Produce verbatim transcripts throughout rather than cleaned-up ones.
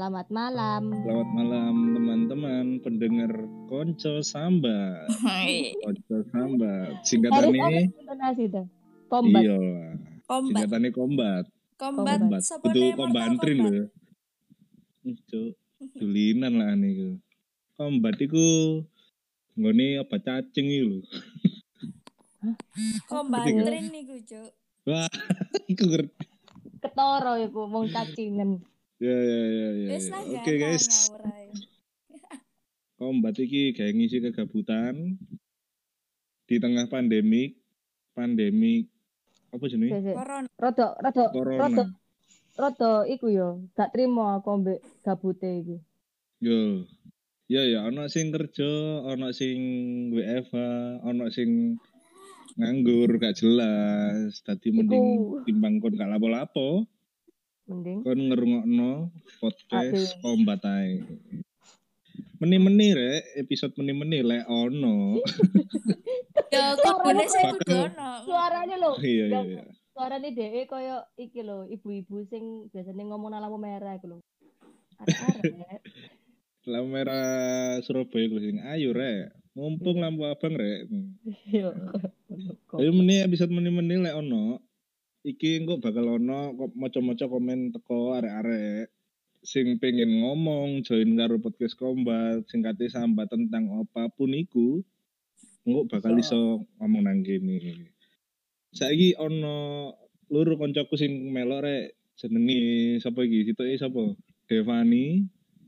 Selamat malam. Selamat malam teman-teman pendengar Konco Sambat. Konco Sambat. Singkatan ini Kombat. Iya. Kombat. Singkatannya kombat. Kombat. Kombat. Sapa Itu ne Mortal kombantrin Kombat? lho. Cuk. Dulinan lah niku. Kombat iku nggone apa cacing iki lho. Kombantrin niku, Cuk. Wah, iku ngerti. Ketoro iku wong cacingan. Ya ya ya ya. Wis lah, Oke gana, guys. ngawur ae. Kombat iki kayak ngisi kegabutan di tengah pandemik. Pandemik apa jenenge? Corona. Rodo rodo Corona. rodo rodo iku yo gak trimo aku ambek gabute iki. Yo. Ya ya ana sing kerja, ana sing W F H, ana sing nganggur gak jelas. Dadi mending Iku. timbang kon gak lapo-lapo, Mending kon ngerungokno podcast Aduh. Kombat ae. Meni-meni rek, episode meni-meni lek ono. Ya kudune sing Bakal- kudu ono. suaranya lho. Iya iya iya. Suarane dhek koyo iki lho, ibu-ibu sing biasanya ngomong nang lampu merah iku lho. Arek-arek. Lampu merah Surabaya ku sing ayo rek. Mumpung lampu abang rek. Yo. Ayo meni episode meni-meni lek ono. Iki engko bakal ono kok maca-maca komen teko arek-arek sing pengen ngomong join karo podcast Kombat sing kate sambat tentang apapun iku engko bakal iso ngomong nang kene. Saiki ono loro koncoku sing melok rek jenenge sapa iki? Sitoke sapa? Devani,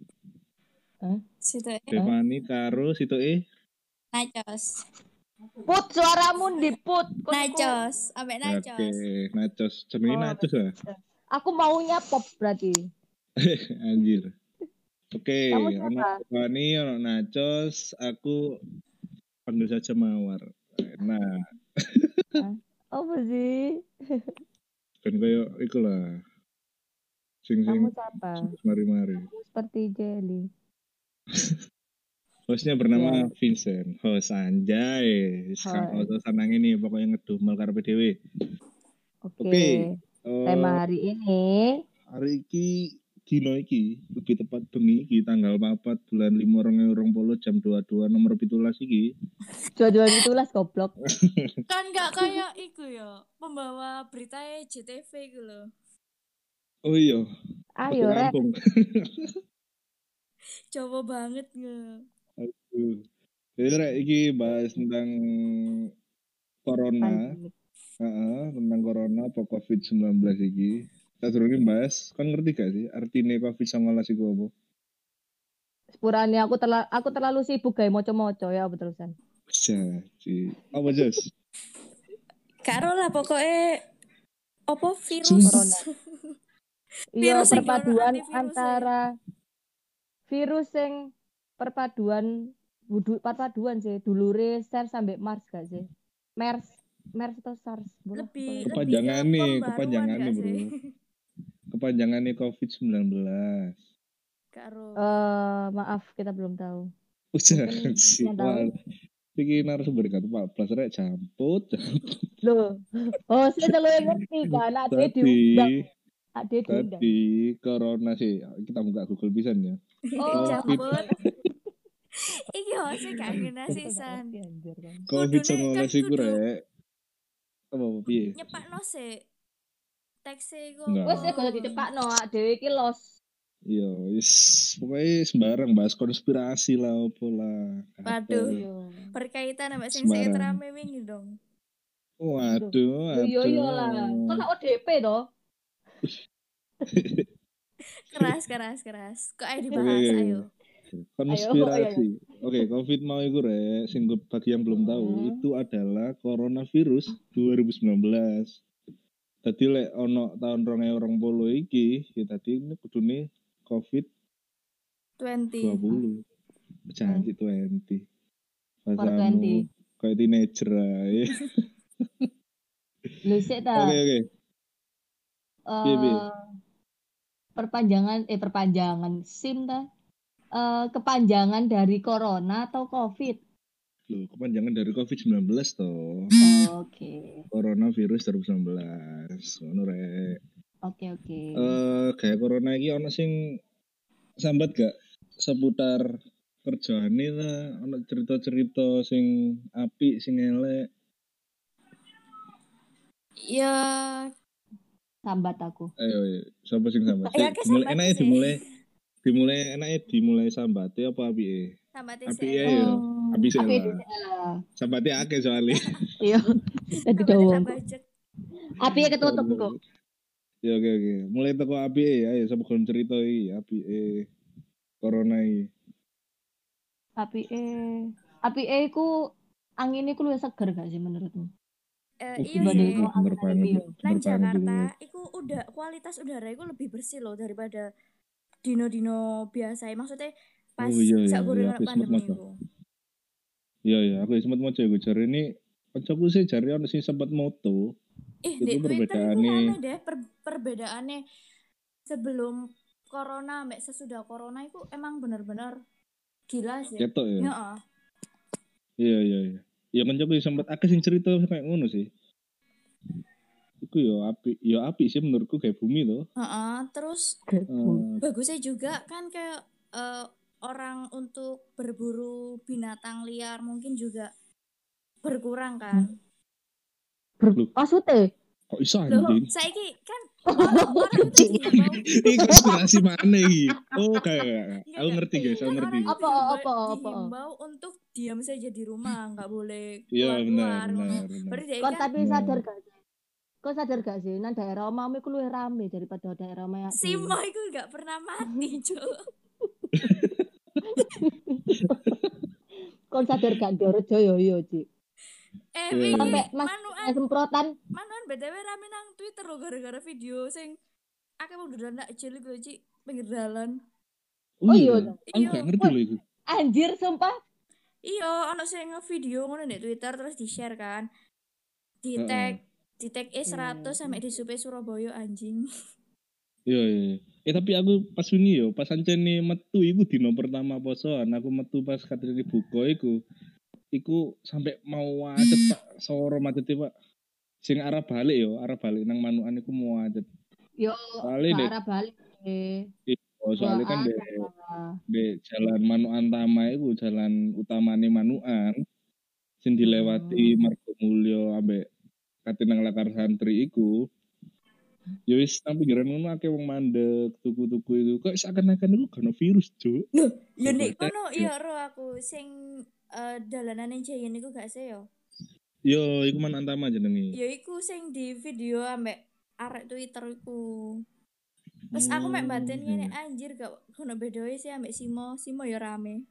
Situ e Devani karo sitoke Nachos. Put suaramu diput. Kon iku- Nachos, ambek Oke, Nachos. Nachos. Jenenge Oh, Nachos lah. Aku maunya pop berarti. Anjir. Oke, Kamu ono siapa? Devani, ono Nachos, aku panggil saja Mawar. Nah, Apa sih? kan kayak iku lah. Sing sing Kamu siapa? mari-mari. Kamu seperti jelly. Hostnya bernama Ya. Vincent. Host anjay. Sekarang Hai. host sanang ini pokoknya ngedumel karo P D W. Oke. Oke. Eh, Tema hari ini hari iki dino iki lebih tepat bengi iki tanggal papat bulan lima dua ribu dua puluh jam dua puluh dua nomor tujuh belas iki. dua-dua itulah goblok. Kan gak kayak iku ya, pembawa berita J T V iku lho. Oh iya. Ayo Ojo rek. rampung. Coba banget nge. Aduh. Jadi rek iki bahas tentang corona. Pandemik. Heeh, tentang corona apa covid sembilan belas iki. Kita durunge bahas, kan ngerti gak sih artine covid sembilan belas iku apa? Sepurane aku terlalu aku terlalu sibuk gawe moco-moco ya beterusan. Jadi, apa Jos? Karo lah pokoknya apa virus Corona. Iya, Virus sing perpaduan ono antivirus antara virus sing perpaduan wudu perpaduan sih dulure SARS sampai MERS gak sih? MERS, MERS atau SARS? Bola, lebih bola. Kepanjangan lebih ke nih, pembaruan kepanjangan gak nih, sih? bro. Kepanjangannya covid sembilan belas. Karo Eh, maaf kita belum tahu. Udah Mungkin sih. yang tahu. Iki narasumber kan empat belas rek camput. Loh. Oh, saya selalu yang ngerti kan, ade Tadi, diundang. Ade diundang. tadi corona sih. Kita buka Google pisan ya. Oh, campur. Iki hose gak ngena sisan. Anjir kan. covid Kudune sembilan belas kan iku kudu rek. Apa apa piye? nyepakno sih. Tekse iku. Enggak. Wes ya kalau dicepakno, dhewe iki los. Iya, wis pokoknya sembarang bahas konspirasi lah opo lah. Waduh. Iya. Berkaitan sama sing Sembarang. sing rame wingi dong. Waduh, Yo yo yo waduh. lah. Kok gak O D P toh? Keras keras keras. Kok ayo Oke, dibahas oke, ayo. konspirasi. Oke, covid mau iku rek, sing bagi yang belum tahu Hmm. itu adalah coronavirus dua ribu sembilan belas. Tadi lek ono tahun dua ribu dua puluh iki, ya tadi ini kudune covid dua dua puluh. puluh. Janji dua puluh. four Bahasamu twenty. kayak teenager aja. Lu sik ta. Oke, oke. Piye, piye? Eh perpanjangan eh perpanjangan SIM ta. Eh kepanjangan dari corona atau Covid? Loh, kepanjangan dari covid sembilan belas toh. Oke. Coronavirus dua ribu sembilan belas. Ngono rek. Oke oke. Eh kayak corona iki ono sing sambat gak seputar kerjaane lah, ono cerita-cerita sing apik, sing elek. Ya, Sambat aku. Ayo, ayo. Sapa sing sambat? ya Sik, ke dimulai sambat enake sih. dimulai dimulai enake dimulai sambate apa apike? Sambat Apike sih. ya. Oh, Apik sih apik lah. dhisik lah. Sambate akeh soalnya. Iya. Dadi Sambat dawa. tak budget. Apike ketutup kok. Ya oke oke. Mulai teko apike ayo sapa gelem cerita iki apike corona iki. Apike apike iku angin iku luwih seger gak sih menurutmu? Eh, Oh, iya bener, sih. bener, bener banget, Iya. bener Nang banget itu. Jakarta iku udah kualitas udara iku lebih bersih loh daripada dino-dino biasa. Maksudnya pas Oh iya iya, sak goreng iya aku sempat pandemi maca. iku. Iya iya, aku sempat maca iku jare ini kancaku sih jare ono sing sempat moto. Ih, Itu di Twitter iku perbedaannya. rame deh per perbedaannya sebelum corona sampai sesudah corona itu emang bener-bener gila sih. Ketok ya. Heeh. Iya iya iya. Ya kancaku sempat akeh sing cerita kayak ngono sih. Iku yo api, yo api sih menurutku kayak bumi tuh. Heeh, terus Uh, bagusnya juga kan kayak eh, orang untuk berburu binatang liar mungkin juga berkurang kan. Ber- Maksudnya? kok iso Loh, anjing? saiki kan orang orang itu dihimbau. Ini konspirasi mana iki? Oh kayak Enggak, aku enggak. ngerti guys, aku Kan ngerti. orang itu Apa, dihimbau, apa, apa? dihimbau untuk diam saja di rumah, nggak boleh Iya benar keluar-keluar. benar ngono. benar. Berarti dia Kok kan tapi sadar gak sih? Kok sadar gak sih? Nang daerah omamu iku luwih rame daripada daerah omahe. Simo itu nggak pernah mati, Cuk. Kok sadar gak Dorjo yo yo, Ci. Eh, Iya, wingi Sampai Mas manuan, semprotan. manuan B T W rame nang Twitter loh gara-gara video sing akeh wong dodolan nak cilik lho, Ci, pinggir dalan. Oh iya. Aku gak ngerti loh itu. Anjir sumpah. Iya, ono sing nge-video ngono di Twitter terus di-share kan. Di tag di tag E seratus sampai di Supe Surabaya anjing. Iya iya. iya. Eh tapi aku pas wingi yo, pas ancene metu iku dino pertama posoan, aku metu pas katene buka iku. Iku sampai mau macet Pak, soro macet Pak. Sing arah balik yo, arah balik nang Manukan iku mau macet. Yo, Soalnya ke dek, arah balik. Eh. oh, soalnya kan dek, Wah, dek jalan Manukan Tama iku jalan utamane Manukan. Sing dilewati Margo Mulyo ambek Katinang Lakar Santri iku. Ya wis nang pinggiran ngono akeh wong mandek, tuku-tuku itu. Kok seakan-akan iku gak ono virus, Cuk. Loh, ya nek Sampai kono ya ro aku sing uh, dalanane Jayan iku gak sih yo. Yo, iku Man Antama jenenge. Ya iku sing di video ambek arek Twitter iku. Terus aku mek batin ngene anjir gak ono bedoe sih ambek Simo. Simo ya rame.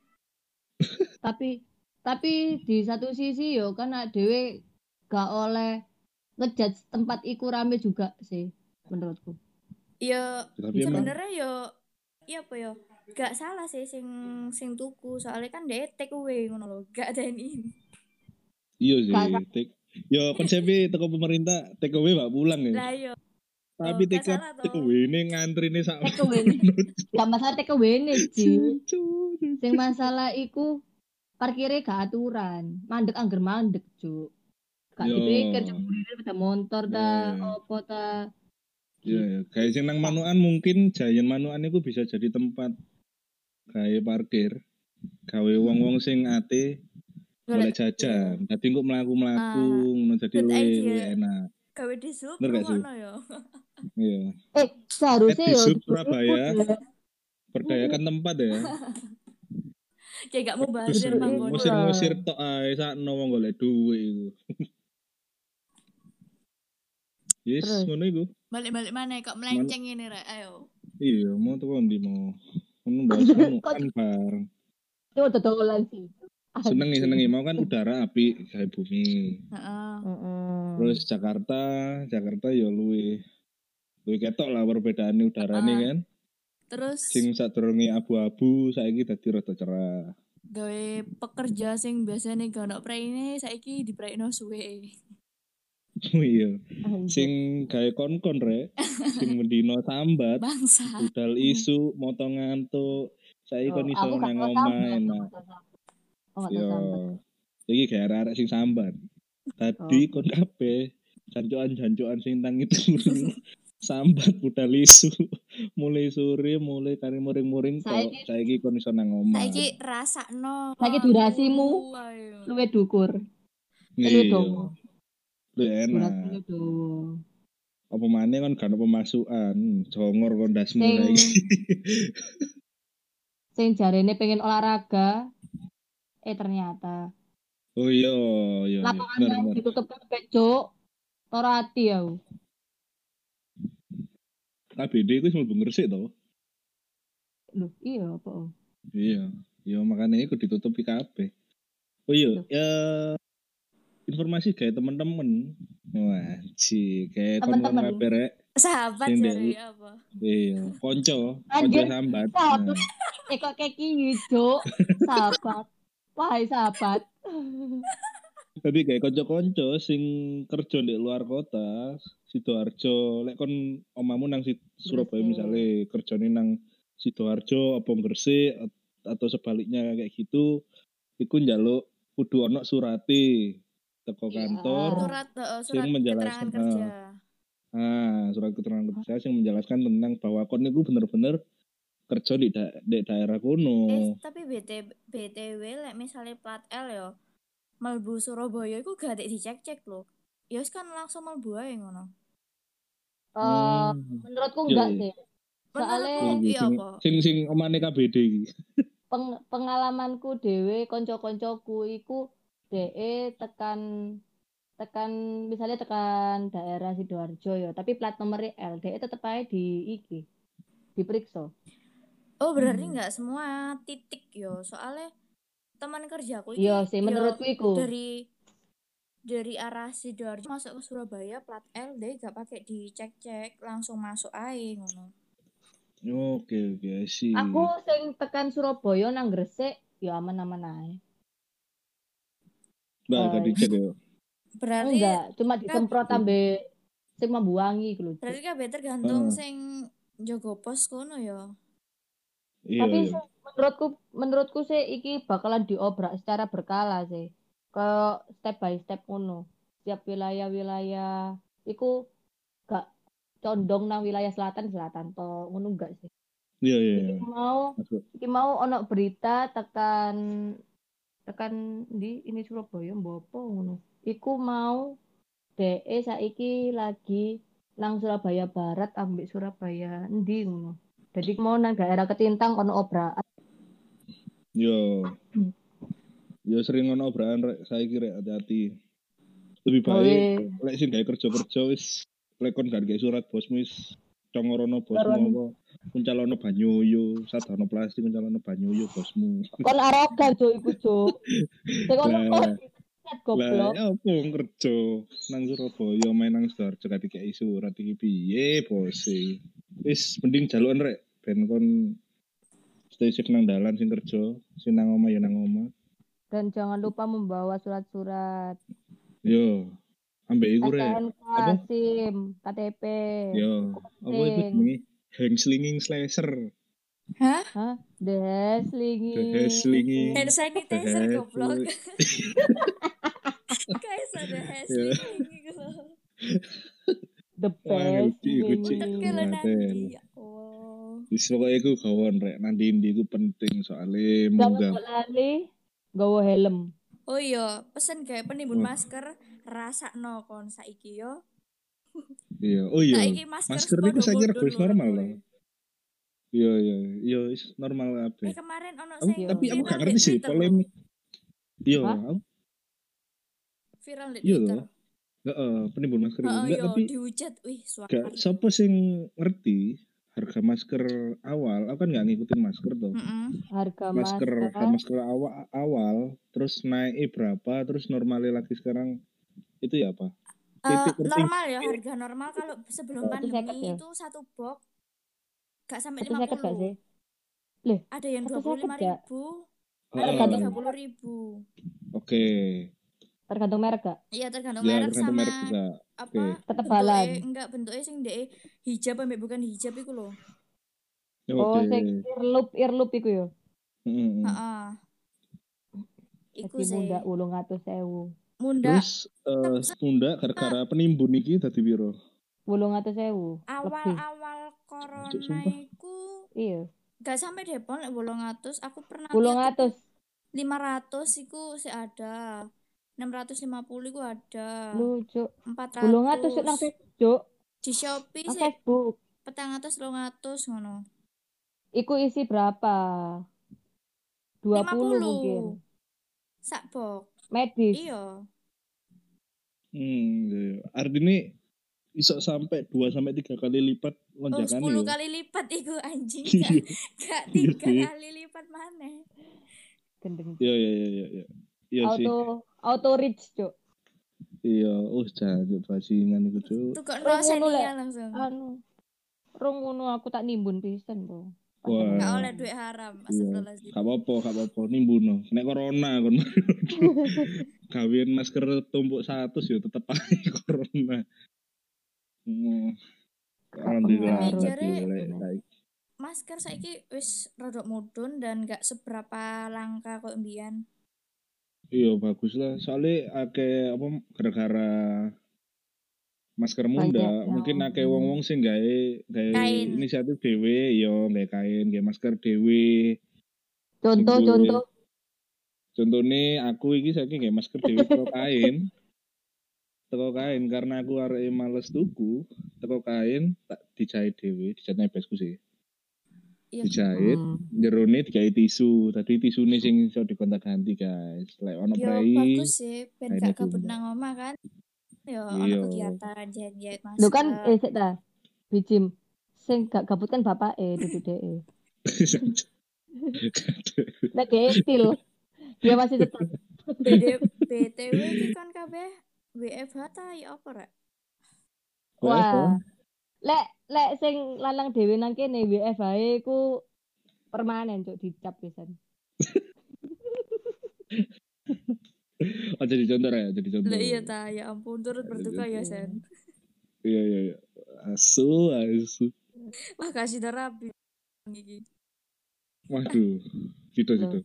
tapi tapi di satu sisi yo kan dhewe gak oleh ngejudge tempat iku rame juga sih menurutku. Ya Tapi emang sebenarnya yo iya apa yo gak salah sih sing sing tuku soalnya kan dia take away ngono lho, gak ada ini. iya sih. Gak sa- Take, yo konsepnya teko pemerintah take away bak pulang ya. Lah yo Tapi oh, gak take salah take toh. away ini ngantri nih sak. Take away ini. Gak masalah take away nih, Ci. Sing masalah iku parkirnya gak aturan. Mandek angger mandek, Cuk. Gak Yo. dipikir jemurine pada motor ta, Iya. opo ta. Iya, ya. Kayak sing nang Manukan mungkin Jayan Manukan itu bisa jadi tempat kayak parkir. Gawe wong-wong sing ate golek jajan. Dadi kok mlaku-mlaku ngono dadi good luwih idea. luwih enak. Gawe di sub Bener gak sih? ngono yo. Iya. Eh, seharusnya Eh, di yo Sub iku Surabaya. deh. Berdayakan tempat ya. Kayak gak mau Terus bazir manggon. ngusir-ngusir tok ae sakno wong golek dhuwit iku. Yes, Terus? ngono iku. Balik-balik mana kok melenceng ini rek. Ayo. Iya, mau tuh ndi mau. Ngono bahas anu kan bareng. Itu udah dolan sih. Senengi senengi mau kan udara api kayak bumi. Heeh. Heeh. Terus Jakarta, Jakarta ya luwih luwih ketok lah perbedaane udarane Ah. kan. Terus Sing sadurunge abu-abu saiki dadi rada cerah. gawe pekerja sing biasanya gak ono praine saiki dipraikno suwe. Oh iya. Anjir. Sing gawe kon-kon rek, sing mendino sambat, Bangsa. budal isu, moto ngantuk. Saiki kon Oh, iso aku gak nang tau omah sambat, enak. aku gak tau sambat. Oh, gak Yo. tau sambat. Iki gawe arek sing sambat. Tadi kon kabeh jancuan-jancuan sing tang itu sambat budal isu. mulai sore, mulai kari muring-muring tok. Saiki- Saiki kon iso nang omah. Saiki rasakno. Saiki durasimu Ayo. luwe dukur. Eh, Iya. luwe dawa. Lu enak. Durasimu dawa. Apa maneh kan gak ada pemasukan, jongor kondasmu Sing saiki. sing jarene pengen olahraga eh ternyata Oh iya, iya, iya. lapangan Bener, yang bener. ditutup kabeh, Cuk. Ora ati aku. K B D itu mlebu Gresik to? Loh, iya apa? Iya, iya makanya itu ditutupi kabeh. Oh iya, Loh. ya informasi kayak temen-temen. Wah, ci kayak Temen-temen. kon-kon kabeh rek. Sahabat Sing jare dek- apa? Iya, konco, konco Anjir, sambat. sahabat. Nah, Eh kok kayak gini, Cuk? Sahabat. Wahai sahabat. tapi kayak konco-konco sing kerja di luar kota, Sidoarjo, lek kon omamu nang si- Surabaya Gresik. misalnya kerjane nang Sidoarjo apa Gresik at- atau sebaliknya kayak gitu, iku njaluk kudu ono surate teko Iya. kantor. Surat uh, Sing surat menjelaskan, keterangan kerja. Ah, surat keterangan kerja yang menjelaskan tentang bahwa kon itu bener-bener kerja di, da- di daerah Eh, kono. tapi B T B T W lek misalnya plat L yo melbu Surabaya iku gak ada dicek-cek loh. Ya wis kan langsung melbu ae ngono. Eh, Hmm. menurutku Iya, enggak iya. sih. Soalnya Menurutku iya sing, apa? sing sing omane K B D iki. peng- pengalamanku dhewe konco-koncoku iku DE tekan tekan misalnya tekan daerah Sidoarjo ya, tapi plat nomornya L, DE tetep aja di iki diperiksa. Oh, berarti Hmm. nggak semua titik yo. Soalnya teman kerjaku iki Iya sih, yo menurutku iku. dari dari arah Sidoarjo masuk ke Surabaya plat L deh gak pakai dicek-cek, langsung masuk ae ngono. Oke, oke, sih. Aku sing tekan Surabaya nang Gresik ya aman-aman ae. Mbak, gak Eh, dicek ya. Berarti enggak, cuma disemprot ambe sing membuangi gitu. berarti kabeh tergantung Heeh. sing njogo pos kono ya. Iya, Tapi iya. sih, menurutku menurutku sih iki bakalan diobrak secara berkala sih. Ke step by step ngono. Setiap wilayah-wilayah iku gak condong nang wilayah selatan selatan to ngono enggak sih. Iya, iya, Iki iya. mau Masuk. iki mau ono berita tekan tekan di ini Surabaya mbok apa ngono. Iku mau DE saiki lagi nang Surabaya Barat ambek Surabaya endi ngono. Jadi mau nang daerah Ketintang ono obrakan. Yo. Yo sering ono obrakan rek saiki rek hati-hati. Lebih Gawe baik lek sing gawe kerja-kerja wis lek kon gak gawe surat bosmu wis congorono bosmu Baruan. apa kuncalono banyuyu, sadono plastik kuncalono banyuyu bosmu. kon arogan cuk iku cuk. Sing ono Lah, kok lah goblok. ya apa wong kerja nang Surabaya main nang Sidoarjo gak dikei surat iki piye bos e. Wis mending jalukan rek ben kon stay safe nang dalan sing kerja, sing nang omah ya nang omah. Dan jangan lupa membawa surat-surat Yo, ambek iku rek. S T N K, Apa? SIM, K T P. Yo, apa iku penting. jenenge? Hand slinging slasher. Hah? Hah? The slinging. The slinging. Hand sanitizer The goblok. Kayak ada hashling gitu loh. The Wah, best ngerti iku, Cik. slinging. Kalau Ngaten. nanti ya Allah. Wis pokoke iku gawon rek nanti-ndi iku penting soalnya Jangan munggah. mbok lali nggawa helm. Oh iya, pesen kayak penimbun Wah. masker rasakno kon saiki yo. Iya, oh iya. Saiki masker Masker iku sepodo saya kira bodol wis lho normal regane. loh. Iya, iya, iya wis normal Eh kabeh. kemarin ono Aku, sing tapi aku viral gak di ngerti sih Twitter polemik. Iya, Hah? aku Viral di Iya Twitter. loh. Heeh, penimbun masker itu. Heeh Enggak, yo tapi dihujat. Wih, suara. gak siapa sing ngerti harga masker awal. Aku kan gak ngikutin masker tuh. Heeh. Harga Masker, masker. harga masker awal, awal, terus naik berapa, terus normalnya lagi sekarang itu ya apa? Eh, Titik tertinggi. normal ya, harga normal kalau sebelum Satu seket pandemi ya? itu satu box gak sampai Satu lima seket gak sih? puluh. Lih, Ada yang satu dua puluh seket lima gak? ribu, ada Heeh. yang Tergantung tiga puluh ribu. Oke. tergantung merek gak? Iya tergantung Ya, merek tergantung sama merek juga. apa Ketebalan. bentuknya, enggak bentuknya sing de hijab ambek bukan hijab iku loh. Oh, Oke. sing earloop earloop iku yo. Heeh. Heeh. Iku Jadi sih. munda wolung atus ewu. Munda Terus eh munda gara-gara penimbun iki dadi piro? wolung atus ewu. Lebih. awal-awal corona Cuk, sumpah. iku Iya, gak sampai depon lek wolong atus. Aku pernah wolong lihat tuku atus. lima ratus iku sih ada. enam ratus lima puluh iku ada. Lucu. empat Wolong atus nang ratus Facebook, Cuk. di Shopee Nang sih Facebook. petang atas telung atus ngono. Iku isi berapa? dua lima puluh puluh mungkin. sak box. Medis. Iya. Hmm, iya. Artinya iso sampai dua sampai tiga kali lipat Oh, lonjakan sepuluh ya. kali lipat iku anjing Iya. gak, gak Iya tiga sih. kali lipat mana. Gendeng. Iya iya iya iya. Iya, iya sih. Auto auto reach, Cuk. Iya, oh jancuk bajingan iku, Cuk. Tukok no Rong ngono lek. senia langsung. Anu. Rong ngono aku tak nimbun pisan, Bro. Pas Wah. zaman Gak itu. oleh duit haram. Iya, Astagfirullahaladzim. gak apa-apa, gak apa-apa. Nimbuno. Nek corona kon. Gawean masker tumpuk satu ya tetep aja corona. Hmm. Alhamdulillah Tapi pengaruh. jare lek saiki. masker saiki wis rodok mudun dan gak seberapa langka kok mbiyen. Iya bagus lah. Soalnya akeh apa gara-gara masker Banyak munda, yang- mungkin akeh wong-wong sing gawe gawe Kain. inisiatif dhewe, yo gawe kain, gawe masker dhewe. Contoh Sing duwe- contoh. Contohnya aku iki saiki gawe masker dhewe teko kain. Teko kain karena aku arek males tuku, teko kain tak dijahit dhewe, dijahit nebesku sih. Iya. Dijahit, Hmm. jerone digawe tisu. Tadi tisune sing iso digonta-ganti, guys. Lek ono Yo prei. bagus sih ben kainnya gak kabut diubah. nang omah kan. Yo Iya. ono kegiatan jahit-jahit masker. Lu kan eh sik ta. Bijim. Sing gak gabut kan bapake duduk dhek. Nek dhek still. Dia masih tetap. B D B T W iki kan kabeh W F H ta ya apa rek? Wah. Lek lek sing lanang dhewe nang kene W F H ku permanen, Cuk, dicap pisan. Oh jadi contoh ya, jadi contoh. Lah iya ta, ya ampun turut berduka ya Sen. Iya iya iya. Asu asu. Wah kasih terapi iki. Waduh. Gitu gitu.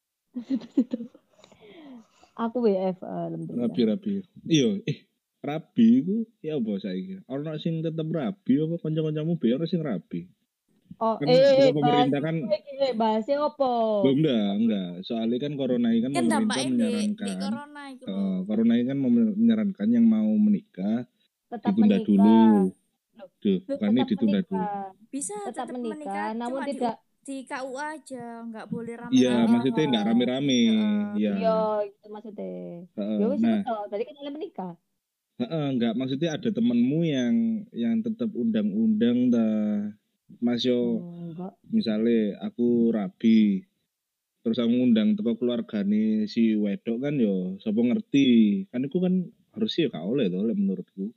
Aku W F H alhamdulillah. Rapi rapi. Iya, eh rapi iku ya apa saiki? Ono sing tetep rapi apa kanca-kancamu be ora sing rapi? Oh, Kan eh, pemerintah bahas kan iki, bahasnya apa? belum enggak, enggak. Soalnya kan corona ini kan Kan pemerintah dampaknya di, di menyarankan. corona itu eh, loh. corona ini kan menyarankan yang mau menikah Tetap ditunda menikah. dulu. Loh, Duh, bukan ini Tetap ditunda dulu. menikah. Bisa Tetap tetap menikah, menikah, namun cuma tidak di, di K U A aja, nggak boleh rame-rame. Iya, maksudnya enggak rame-rame. Iya. Iya, itu maksudnya. Heeh, Ya wis nah, itu, tadi kan kalian menikah. heeh, enggak maksudnya ada temenmu yang yang tetap undang-undang dah. Mas yo Oh, enggak. misalnya aku rabi terus aku ngundang teko keluargane si wedok kan yo sapa ngerti kan itu kan harusnya gak oleh to lek menurutku.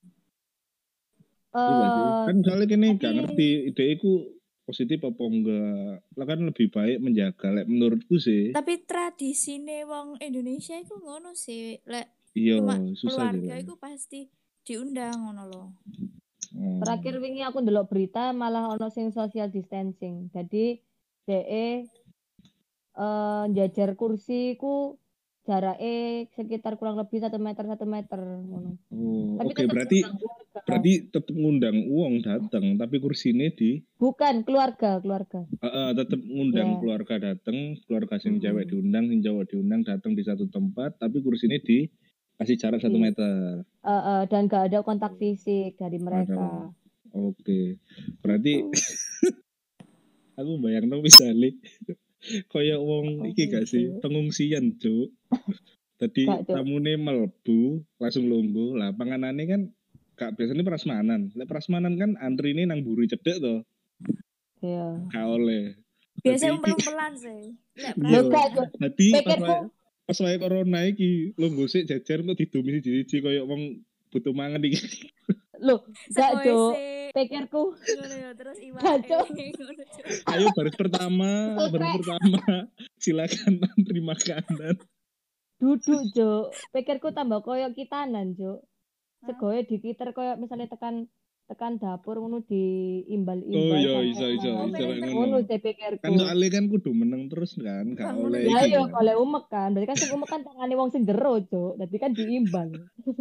Iya gak sih? Eh, Kan soalnya kene gak tapi- ngerti ide iku positif apa enggak. Lah kan lebih baik menjaga lek menurutku sih. Tapi tradisine wong Indonesia itu ngono sih, lek Iya, cuma susah sih. keluarga Lek. itu pasti diundang ngono loh. Oh. Terakhir wingi aku ndelok berita malah ono sing social distancing. Jadi D E eh jajar kursi ku jarake sekitar kurang lebih satu meter satu meter ngono. Oh, Tapi oke tetap berarti diundang keluarga. berarti tetep ngundang uang datang tapi kursinya di Bukan keluarga, keluarga. uh, tetap ngundang Ya. keluarga datang, keluarga sing Mm-mm. cewek diundang, sing cowok diundang datang di satu tempat, tapi kursinya di kasih jarak satu Iya. meter. Eh, eh, dan gak ada kontak fisik dari mereka. Oke, berarti Gitu. aku bayang dong misalnya kayak wong iki gak sih Gitu. pengungsian cuk. Tadi Gak, Cuk. tamune mlebu langsung lungguh lah panganane kan gak biasanya prasmanan. Lek prasmanan kan antrine nang buri cedek to. Iya. Gak oleh. Biasanya Dadi- umpel-umpelan sih. Lek Iya. Loh, gak, Cuk. Dadi pas Pikirku wae pas wae corona iki lungguh sik jajar kok didumi siji-siji koyo wong butuh mangan iki. loh, gak, Cuk. Sekoe Pikirku ngono ya terus iwake. Kacau. Ngono, Cuk. Ayo baris pertama, baris pertama. Silakan antri makanan. duduk, Cuk. Pikirku tambah koyo kitanan, Cuk. Segoe dikiter koyo misalnya tekan tekan dapur ngono diimbal-imbal. Oh iya sampai iso iso mangan. iso kayak Ngono ngono. saya pikirku. Kan soalnya kan kudu meneng terus kan, gak Bangun oleh itu. Ya iki yo kan. oleh umek kan. Berarti kan sing umek kan tangane wong sing jero, Cuk. Dadi kan diimbal.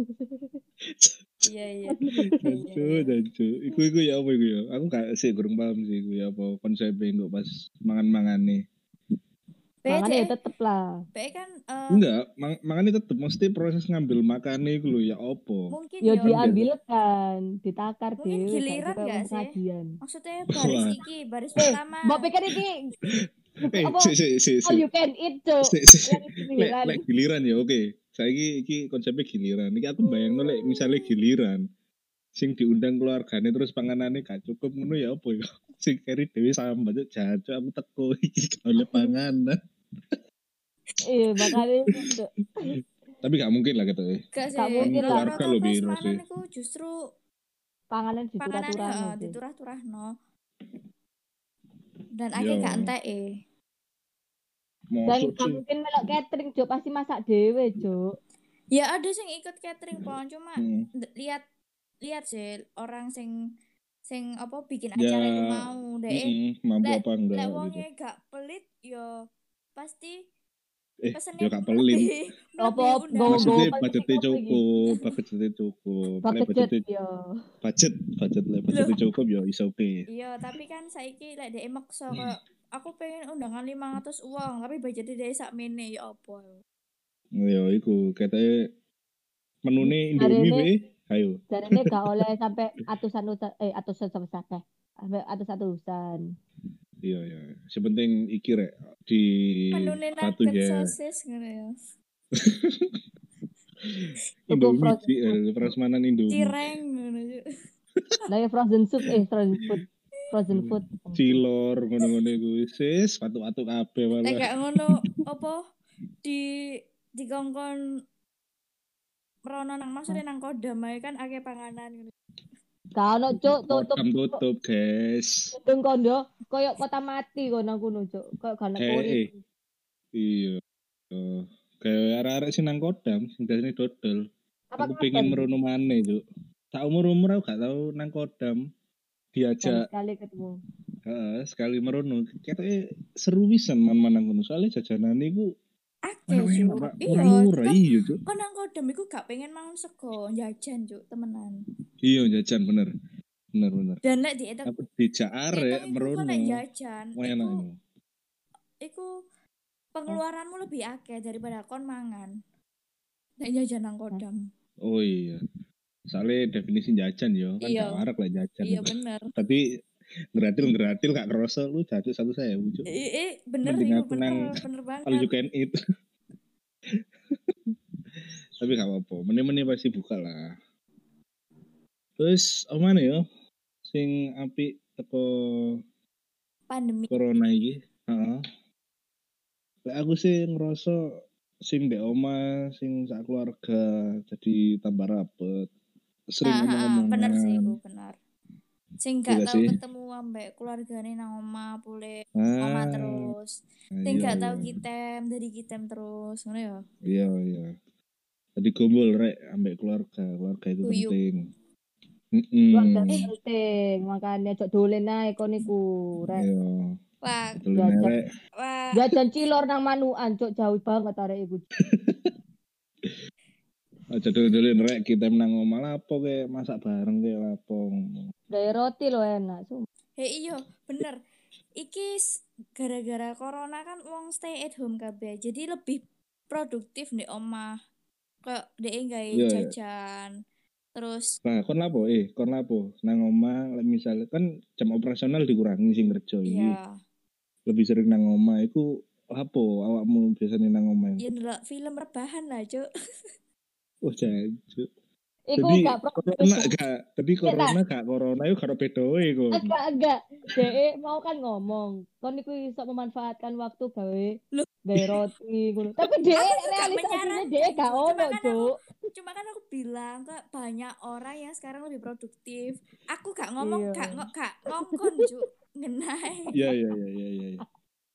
Iya iya. Dancu, dancu. Iku iku ya apa iku ya? Aku gak sih kurang paham sih iku ya apa konsepnya kok pas mangan-mangan nih. Mangane ya Beda. tetep lah. Be kan eh, Enggak, mang mangannya tetep mesti proses ngambil makannya iku lho ya apa? mungkin Yo yo diambil kan, ditakar mungkin dhewe gak giliran iso gak sih? pengajian. Maksudnya baris Wah. iki, baris Eh, pertama. mbok pikir iki Eh, apa? si si si si. All you can eat, Cuk. Si, si. Yang Lek giliran. lek giliran ya oke. Saiki iki konsepnya giliran. Iki aku bayangno lek misalnya giliran sing diundang keluargane terus panganane gak cukup ngono ya apa ya? Sing keri dhewe sambat jajan aku teko iki gak oleh panganan. Iya, makanya itu. Tapi gak mungkin lah gitu ya. Gak sih. Gak mungkin lah. Keluarga Rata-rata lo biro prasmanan sih. iku justru Panganan panganane diturah-turahno heeh sih. diturah-turahno. Dan Yo. akeh gak enteke. Dan Mosok gak sih. mungkin melok catering, Cuk. Pasti masak dhewe, Cuk. Ya ada sing ikut catering pon cuma Hmm. d- lihat lihat sih orang sing sing apa bikin Ya, acara itu mau deh. mm-mm, mampu Lek apa enggak lek gitu. wonge gak pelit yo pasti Eh, pesennya yo gak pelit. melebihi Apa melebihi undangan. Maksudnya Gowo-gowo budgetnya penting apa iki? cukup, budgetnya cukup. Lek Budget budgetnya yo. budget, budget lek budgetnya cukup ya is oke. Iya, tapi kan saiki lek dhek maksa kok aku pengen undangan lima ratus uang, tapi budgetnya dhek sakmene ya apa. Ya iku katanya menune Indomie Jarene- we, ayo. Jarene gak oleh sampai atusan-usan eh atusan sampai sampai sampai atus-atusan. Iya ya. Sepenting iki rek di Menune satu nugget ya. sosis ngono ya. Indomie frozen di eh, prasmanan Indomie. Cireng ngono ya. Lah ya frozen soup eh frozen food. Frozen food. Cilor ngono-ngono iku sis, watu-watu kabeh Lek malah. gak ngono apa di dikongkon merono nang maksudnya nang Kodam ae kan akeh panganan ngono. Gak ono, Cuk, tutup. Kodam tutup, guys. Gedung kondo koyo kota mati kono kono, Cuk. Koyo gak Eh, kuri. eh. Iya. Oh, kayak arek-arek sing nang Kodam sing dasane dodol. Apa Aku pengen merono maneh, Cuk. Tak umur-umur aku gak tau nang Kodam. Diajak sekali ketemu. heeh, sekali merono. Kayaknya seru pisan man-man nang kono. Soalnya jajanane iku Akeh Cuk. murah, Iya, murah, kan iya, Cuk. kok nang Kodam iku gak pengen mangan sego, jajan Cuk, temenan. Iya, jajan bener. Bener bener. Dan lek diitung Aku dijak arek diitung iku merono. kok lek jajan, Wah, enak iku itu. iku pengeluaranmu lebih akeh daripada kon mangan. Nek jajan nang Kodam. Oh iya. Soalnya definisi jajan yo, kan Iya. gak warak lah jajan. Iya bener. Tapi ngeratil-ngeratil gak kerasa lu jajan satu saya Cuk. Eh, eh bener Mending iku aku bener, nang bener banget. All you can eat. Tapi gak apa-apa, meneh-meneh pasti buka lah. Terus apa mana ya? Sing apik teko Pandemi. corona iki. Heeh. Lek aku sih ngerasa sing ndek omah, sing sak keluarga jadi tambah rapet. Sering Nah, ngomong-ngomongan. bener sih iku bener. Sing gak Iya tau sih. ketemu ambek keluargane nang omah pule Ah, omah terus. Sing iya, gak tau iya. kitem dari kitem terus, ngono ya. Iya, iya. Tadi kumpul rek ambek keluarga, keluarga itu Guyub. penting. Keluarga Heeh. penting, makanya cok dolen ae kon iku, rek. Iya. Wah, Betul Jajan. rek. wah. Jajan cilor nang Manuan, cok jauh banget arek iku. Aja dulu-dulu rek kita menang omah lapo ke masak bareng ke lapo. Dari roti lo enak, sumpah. Hei iyo, bener. Iki s- gara-gara corona kan wong stay at home kabeh. Jadi lebih produktif di omah. Kayak dhek gawe Iya, iya. jajan. Terus Nah, kon lapo eh, kon lapo nang omah lek misalnya kan jam operasional dikurangi sing kerja iki. ya, Lebih sering nang omah iku lapo awakmu biasanya nang omah. ya ndelok film rebahan lah, Cuk. Oh, jancuk. Iku Jadi gak corona produktif. gak, tapi corona gak corona itu karo bedoe kon. Agak agak. Dek mau kan ngomong, kon iku iso memanfaatkan waktu gawe Loh. gawe roti ngono. Tapi dek Aku juga realisasinya menyarankan, dek gak Cuk. ono, Cuma kan aku Cuk. cuma kan aku bilang kok banyak orang yang sekarang lebih produktif. Aku gak ngomong Iya. gak ngo- gak ngongkon, Cuk. Ngenai. Iya, iya, iya, iya, iya.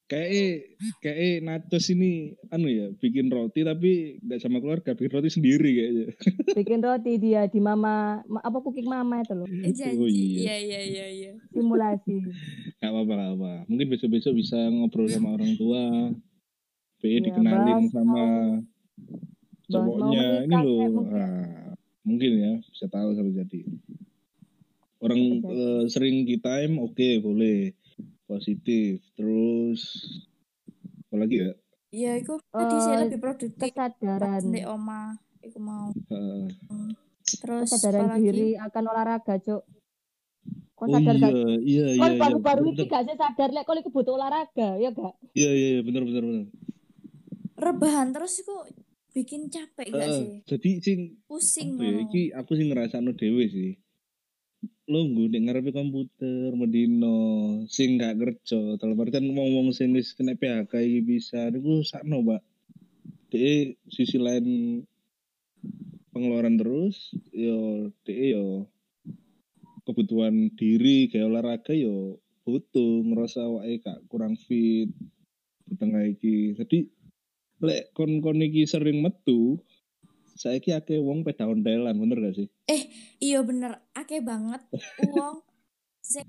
Kayak kayak Natos ini anu ya bikin roti tapi nggak sama keluarga, bikin roti sendiri kayaknya. Bikin roti dia di mama ma- apa cooking mama itu loh. Eh janji. Oh Iya iya. iya iya iya. Simulasi. Gak apa-apa, gak apa. Mungkin besok-besok bisa ngobrol sama orang tua. B E Iya, dikenalin bahas sama mau bahas mau cowoknya ini menikah loh. kayak mungkin. Ah, mungkin ya bisa tahu sampai jadi. Orang Bisa jadi. eh, sering kita time oke boleh positif. Terus apa lagi ya? Iya, iku tadi saya Eh, lebih produktif pas kesadaran ndek oma. Iku mau. Ah, Terus kesadaran apalagi? diri akan olahraga, Cuk. Kon oh sadar iya, gak? iya, Kon iya, iya, baru-baru bener, ini bener. gak sih sadar lek kon iku butuh olahraga, ya gak? Iya, iya, iya, bener, bener, bener. Rebahan terus iku bikin capek gak Ah, sih? jadi sing Pusing apa ya? ngono. Iki aku sih ngerasakno dhewe sih. Lungguh nek ngarepe komputer mendino sing gak kerja dalam artian wong-wong sing wis kena P H K iki bisa niku sakno Pak. Dek sisi lain pengeluaran terus yo dek yo kebutuhan diri kayak olahraga yo butuh ngerasa awake gak kurang fit di tengah iki. Jadi lek kon-kon iki sering metu saiki akeh wong peda ontelan bener gak sih? Eh, iya bener, akeh banget uang sing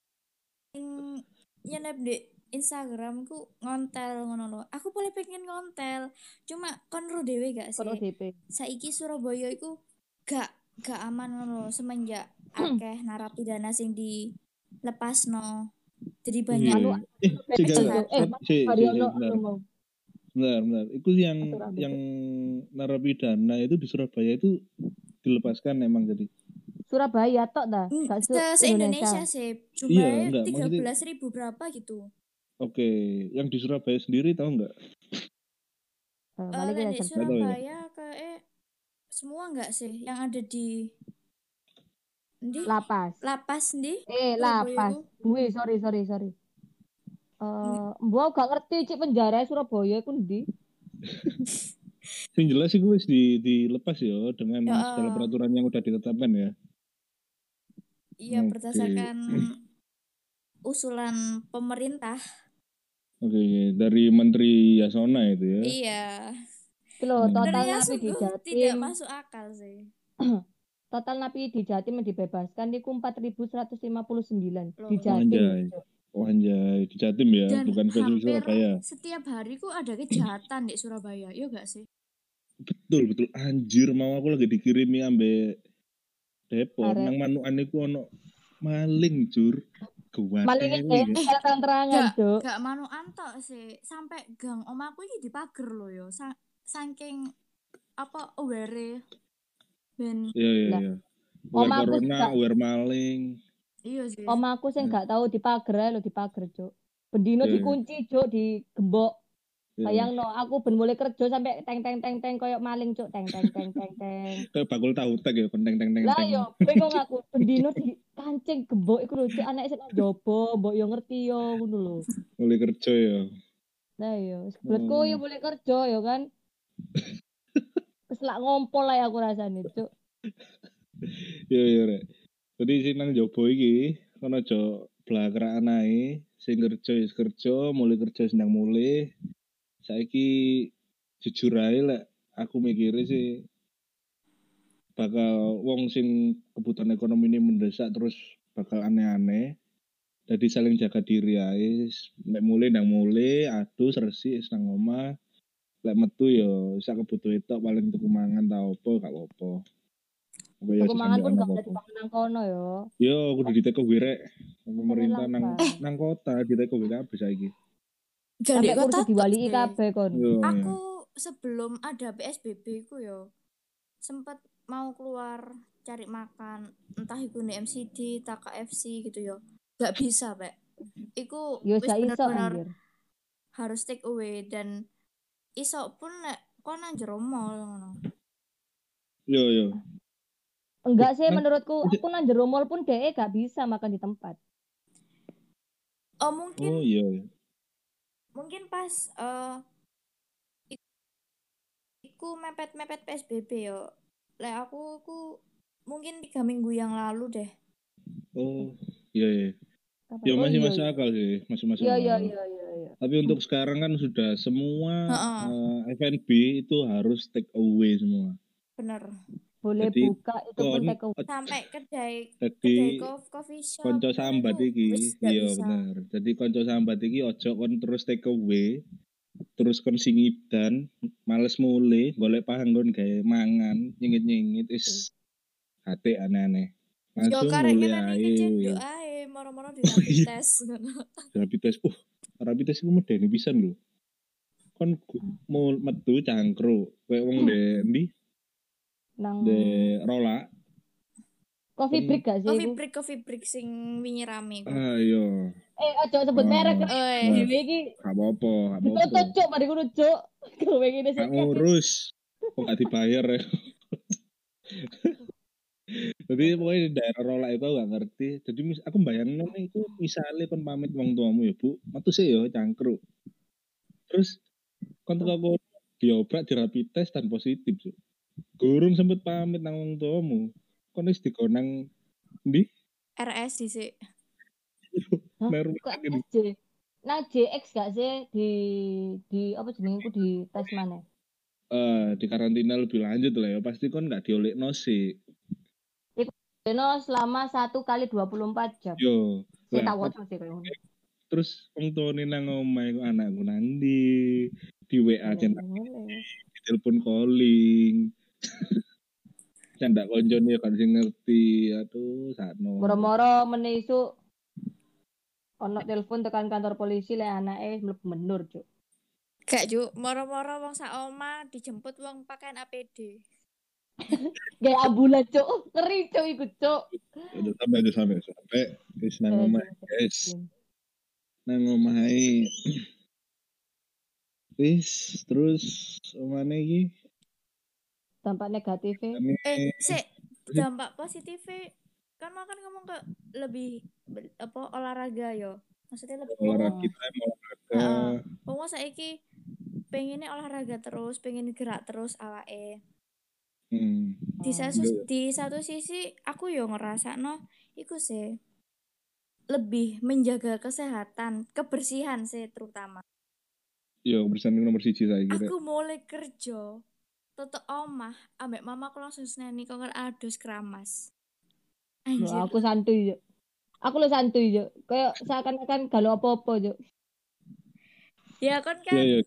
nyenep di Instagram ku ngontel ngono lho. Aku boleh pengen ngontel, cuma kon ro dhewe gak Kon sih? O D P. Saiki Surabaya iku gak gak aman ngono lho semenjak akeh narapidana sing dilepasno. Jadi Oh banyak iya. Eh, sih Betul, gak, Cuk. Eh, kejahatan. Mas si, si, si, Haryono benar. lu mau Benar, benar. Itu yang Mas Surabaya. yang narapidana itu di Surabaya itu dilepaskan emang jadi. Surabaya tok dah, Mm, gak se Se, Indonesia. Indonesia sih Iya, jumlahnya enggak tiga maksudnya. belas ribu berapa gitu. Oke, yang di Surabaya sendiri tahu enggak? Eh, Eh balik lek kita di Enggak search. tahu ya. Surabaya kayak semua enggak sih yang ada di di Lapas. lapas di Eh, Surabaya lapas. iku. Bui, sorry, sorry, sorry. Eh, mbok gak ngerti cik penjara Surabaya iku ndi? Yang jelas sih gue di dilepas ya dengan Ya, segala eh, peraturan yang udah ditetapkan ya. iya Oke. berdasarkan usulan pemerintah. Oke, dari Menteri Yasona itu ya. Iya. Iki lho, Hmm. total Sebenarnya napi di sungguh tidak Jatim, masuk akal sih. total napi di Jatim yang dibebaskan niku empat ribu seratus lima puluh sembilan Loh. di Oh, Jatim. anjay. Cuk. Oh anjay, di Jatim ya, Dan bukan spesifik hampir Surabaya. setiap hari ku ada kejahatan di Surabaya, iya gak sih? Betul, betul. Anjir, mau aku lagi dikirimi ambek Depok, Arek. nang manukan iku ono maling, Jur. Maling Kuwatele iki ya. eh terang-terangan, Gak, Cuk. gak manukan tok sih. Sampai gang omaku ini dipager loh yo. Sa saking apa aware ben Iya, iya, Lah, iya. Aware omaku sing corona, gak aware maling. iya sih. omaku sing Hmm. gak tahu dipager ae lho dipager, Cuk. Bendino Iya, iya. dikunci, Cuk, digembok. Iya. Bayangno aku ben mulai kerja sampai teng teng teng teng koyo maling, Cuk. Teng teng teng teng teng. Kayak bakul tahu tek ya, penteng teng teng Lah teng. yo, bingung aku. Bendino dikancing gembok iku lho, Cuk. Anake sing njobo, mbok yo ngerti yo ngono lho. Mulai kerja ya. Lah yo, sebetku yo boleh kerja yo kan. Wis lak ngompol ae aku rasane, Cuk. Iya, iya, Rek. Jadi sing nang jobo iki kono aja blakrakan ae, sing kerja wis kerja, mulai kerja sedang mulai. Saiki jujur ae lek aku mikirnya sih bakal wong sing kebutuhan ekonomi ini mendesak terus bakal aneh-aneh. Jadi saling jaga diri ae, lek mulai nang mulai, adus resik wis nang omah. Lek metu yo sak kebutuhan tok paling tuku mangan ta opo gak apa-apa. Apa ya Aku mangan pun sesambean gak apa ada apa. dipangan nang kono yo. Yo kudu diteko wirek. Pemerintah nang lambat. nang kota diteko wirek kabeh saiki. Gak Sampai di kota kursi tok diwali sih. kabeh kon. Yo. Aku sebelum ada P S B B ku yo sempat mau keluar cari makan entah itu di M C D, tak K F C gitu yo. Gak bisa, Pak. Iku Yo wis sak iso bener-bener anjir. harus take away dan iso pun nek kon nang jero mall ngono. Yo yo. Enggak sih Nang- menurutku, aku nang jero mall pun dhek gak bisa makan di tempat. Oh, mungkin Oh iya. mungkin pas eh iku mepet-mepet P S B B yo. Lek aku ku mungkin tiga minggu yang lalu deh. Oh iya iya. Kapan? Ya Oh masih iya masuk iya. akal sih, masih masuk Iya akal. iya iya iya iya. Tapi untuk sekarang kan sudah semua Heeh. uh, F and B itu harus take away semua. Bener. Boleh Jadi buka itu pun kon take away. Sampai kedai jadi kedai cof- coffee shop konco ngono sambat iku wis iki, gak iya bisa. bener. Jadi konco sambat iki ojo kon terus take away, terus kon singidan, males mule, golek panggon gawe mangan, nyingit-nyingit is hati aneh-aneh. Yo Langsung karek mule ngene ae. kecenduk ae moro-moro di Oh, rapid iya. test ngono. Rapid test. Uh, rapid test iku medeni pisan lho. Kon gu- mau metu cangkruk, kowe wong de endi? Nang De rola. coffee kon- break gak sih Coffee iku? break coffee break sing wingi rame iku. Ayo. Eh ojo sebut Oh, merek. Oi. nah, Dhewe iki gak apa-apa, gak ditutup apa-apa. cuk mari ngono cuk. Kowe ngene sik Gak ngurus. Kok gak dibayar ya? Jadi pokoknya di daerah rola itu aku gak ngerti. Jadi mis- aku bayangin nih itu misalnya kon pamit wong tuamu ya bu, metu sih ya cangkruk. Terus kon teko kono diobrak di rapid test dan positif Cuk. Gurung sempet pamit nang wong tuamu. Kon wis dikonang ndi? R S dhisik. Hah? Nang rumah Kok sakit. S J? Nang J X gak sih di di apa jenenge ku di tes mana? Eh, di karantina lebih lanjut lah ya. Pasti kon gak diolekno sih. Deno selama satu kali dua puluh empat jam. Yo. Saya Lah, tahu aja sih kayak ngono. terus wong tuane nang omahe ku anakku nang ndi? Di W A Boleh, centang, boleh. di telepon calling. Candak koncone kan sing ngerti. Aduh, sakno. Moro-moro meneh isuk ono telepon tekan kantor polisi lek anake mlebu menur, Cuk. Gak juk, moro-moro wong sak oma dijemput wong pakaian A P D. Kayak ambulan, Cuk. Oh, ngeri, Cuk, iku, Cuk. Udah sampai aja sampai sampai wis nang Eh, omah Cuk. guys. Nang omahe. Wis terus omane iki Dampak negatifnya Eh, sik, dampak positifnya kan mau kan ngomong ke lebih be- apa olahraga yo. Maksudnya lebih olahraga Oh. kita mau olahraga. Heeh. Wong saiki pengennya olahraga terus, pengen gerak terus awake. Hmm. Di satu Iya. di satu sisi aku yo ngerasakno iku sih lebih menjaga kesehatan, kebersihan sih terutama. Yo bersanding nomor siji saya kira. Aku mulai kerja tetep omah ambek mama aku langsung seneni kok adus keramas. Loh, Anjir. aku santuy, Cuk. Aku lo santuy, Cuk. Kayak seakan-akan galau apa-apa, Cuk. Ya kan kan. Iya, iya.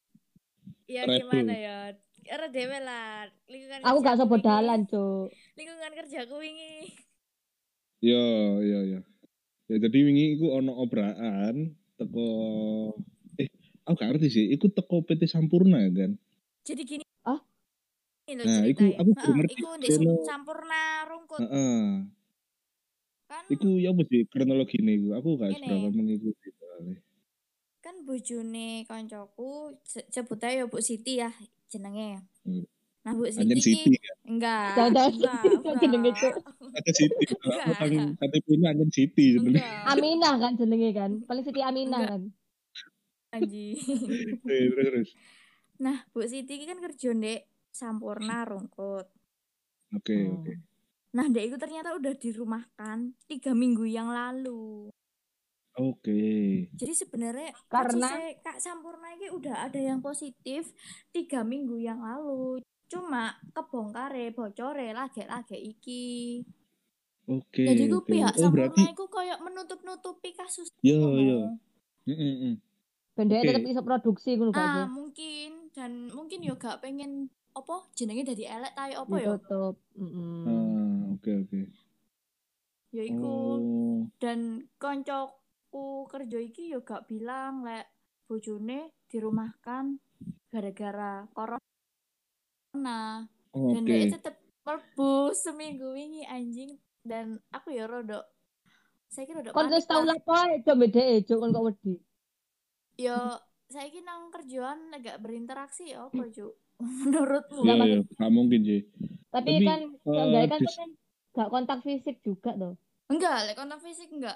Ya Red gimana Bull. ya? Ora dhewe lah. Lingkungan Aku gak kerjaku sobo wingi. dalan, Cuk. Lingkungan kerjaku wingi. Yo, yo, yo. Ya jadi wingi iku ono obrakan teko eh aku gak ngerti sih, iku teko P T Sampurna kan. Jadi gini. Ah? Ini Nah, cerita iku ya. aku Heeh, belum ngerti. iku ndek Krono, Sampurna Rungkut. heeh. Kan Iku ya apa sih kronologine iku? Aku gak Ini. seberapa mengikuti soalnya. kan bojone koncoku se- sebut aja Bu Siti ya jenenge. Hmm. Nah, Bu Anjen Siti Siti ki kan. enggak, Jangan enggak, jenenge, enggak. Cuk. Anjen Siti. Enggak. Orang K T P-nya Anjen Siti sebenarnya. Enggak. Aminah kan jenenge kan. Paling Siti Aminah Enggak. kan. Anjing. Terus terus. Nah, Bu Siti ki kan kerja ndek Sampurna Rungkut. Oke, Hmm. oke. Nah, Dek itu ternyata udah dirumahkan tiga minggu yang lalu. Oke. Jadi sebenarnya Karena kasusnya Kak Sampurna ini udah ada yang positif tiga minggu yang lalu. Cuma kebongkare, bocore, lage-lage iki. Oke, Jadi ku oke. pihak Oh, Sampurna berarti iku kayak menutup-nutupi kasus yo ngono. yo. Heeh, heeh. bendanya Oke. tetap iso produksi ngono gak sih? Ah, mungkin dan mungkin yo gak pengen apa jenenge dadi elek ta apa yo. Ditutup. Mm-mm. Ah, oke, oke. Ya iku. Oh. Dan koncoku kerja iki yo gak bilang lek bojone dirumahkan gara-gara corona. Oh, Dan oke. dia tetep mlebu seminggu wingi anjing dan aku ya rodok saya kira rodok Kon panik wis tau lah. lapo ae coba dhek, Cuk, kon kok wedi. Yo saya kira nang kerjaan agak berinteraksi ya apa Cuk? Menurutmu? Ya, Enggak, ya, gak mungkin sih. Tapi, Tapi, kan eh, seenggaknya kan dis- kan gak kontak fisik juga tuh. Enggak, lek kontak fisik enggak.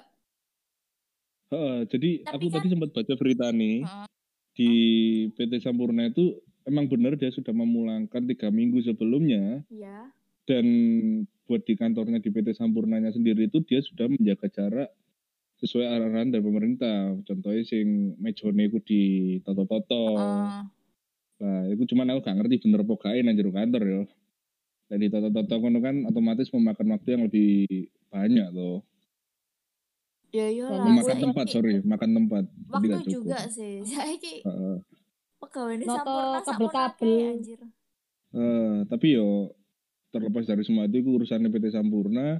Heeh, jadi Tapi aku kan- tadi sempat baca berita nih Heeh. di P T Sampurna itu emang benar dia sudah memulangkan tiga minggu sebelumnya Iya. dan buat di kantornya di P T Sampurnanya sendiri itu dia sudah menjaga jarak sesuai arahan dari pemerintah. Contohnya sing mejone iku ditoto-toto. Heeh. Nah, itu cuman aku gak ngerti bener apa gak nang jero kantor ya. Jadi toto-toto kono kan otomatis memakan waktu yang lebih banyak tuh. Ya iyalah, Dan Makan aku tempat, saiki sorry, makan tempat. Tapi waktu gak cukup. juga sih. Saiki Heeh. pegawainya noto sampurna sakmono kabel-kabel. akeh anjir. Eh, tapi yo terlepas dari semua itu urusannya P T Sampurna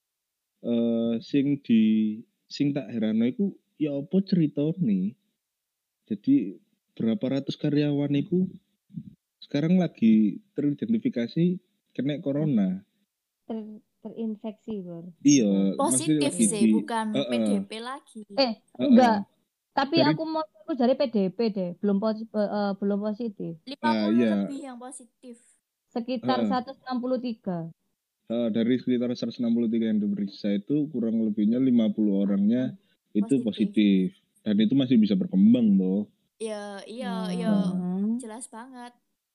eh sing di sing tak herano iku ya apa ceritane. Jadi berapa ratus karyawan iku sekarang lagi teridentifikasi kena corona. Ter, terinfeksi bro. Iya, maksudnya Positif lagi sih, di bukan eh, P D eh, P lagi. Eh eh, enggak. eh. Tapi Dari aku mau aku dari P D P deh, belum posi, eh, eh, belum positif. lima ah puluh iya, lebih yang positif. Sekitar eh, eh. seratus enam puluh tiga. Eh, dari sekitar seratus enam puluh tiga yang diperiksa itu kurang lebihnya lima puluh orangnya itu Positif. positif. Dan itu masih bisa berkembang loh. Ya, iya, iya, Hmm. jelas banget.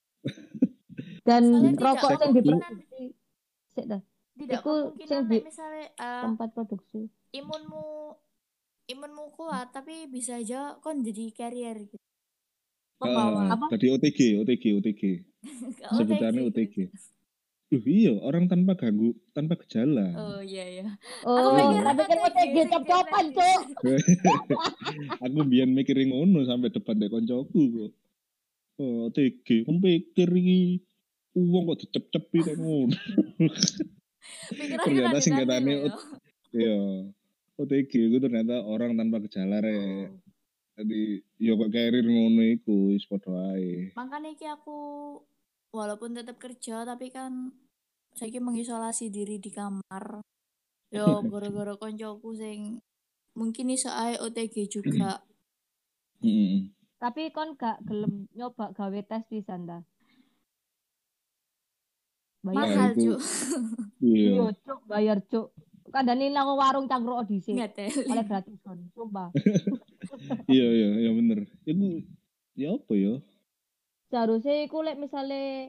Dan Soalnya tidak rokok yang kemungkinan diproduksi sik dah. tidak Iku kemungkinan sing nek di misalnya eh, tempat produksi. imunmu imunmu kuat tapi bisa aja kon jadi carrier gitu. Eh, Pembawa. Apa? tadi O T G, O T G, O T G. O T G Sebutannya O T gitu. G. Duh, iya, orang tanpa ganggu, tanpa gejala. Oh iya iya. Oh, Aku Iya. pikir tapi kan O T G O T G sing cop-copan, genetis. Cuk. Aku biyen mikirin ngono sampai depan dek koncoku kok. Oh, O T G, kan pikir iki uang kok dicep-cepi kok ngono. Pikirannya Ternyata tadi singkatannya ya. iya. O T G itu ternyata orang tanpa gejala rek. Oh. Jadi yo kok carrier ngono iku wis padha ae. Makanya iki aku walaupun tetap kerja tapi kan saya mengisolasi diri di kamar. Yo gara-gara koncoku sing mungkin iso ae O T G juga. Heeh. Tapi kon gak gelem nyoba gawe tes pisan ta? Bayar. Mahal, itu Cuk. iya. Iya, Cuk, bayar, Cuk. Kandani nang warung cangkruk dhisik. Nggak teli. Oleh gratis kon, sumpah. Iya iya iya bener. Iku ya apa ya? Seharusnya iku lek misale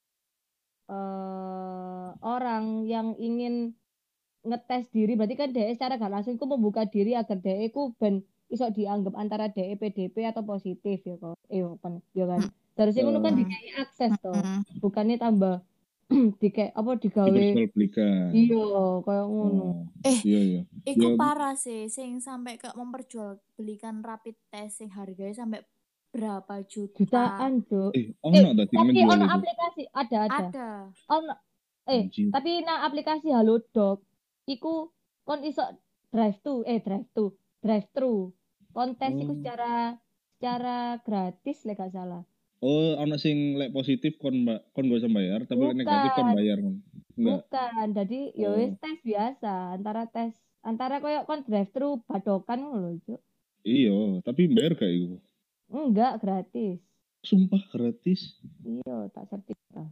eh orang yang ingin ngetes diri berarti kan D E secara gak langsung iku membuka diri agar D E iku ben iso dianggap antara D E P D P atau positif ya kok. Eh kan, ya kan. Seharusnya ngono kan Eh, dikai akses toh. Mm. Bukannya tambah dike apa digawe diperjualbelikan. iya kayak ngono. Oh, Eh, iya iya. iku Ya, parah sih sing sampai ke memperjualbelikan rapid test sing harganya sampai berapa juta. Jutaan, Cuk. eh Eh, ono ta sing tapi menjual ono itu. aplikasi ada ada. Ada. Ono eh Anjir. tapi nang aplikasi Halodoc iku kon iso drive to eh drive to drive thru. Kontes iku Oh. secara secara gratis lek gak salah. Oh, ono sing lek positif kon mbak kon gak usah bayar, tapi lek negatif kon Bukan. bayar kon. Enggak. Bukan. Jadi ya Oh. wis tes biasa antara tes antara koyo kon drive thru badokan ngono lho, Cuk. Iya, tapi bayar gak iku? Enggak gratis. Sumpah gratis. Iya, tak sertifikat.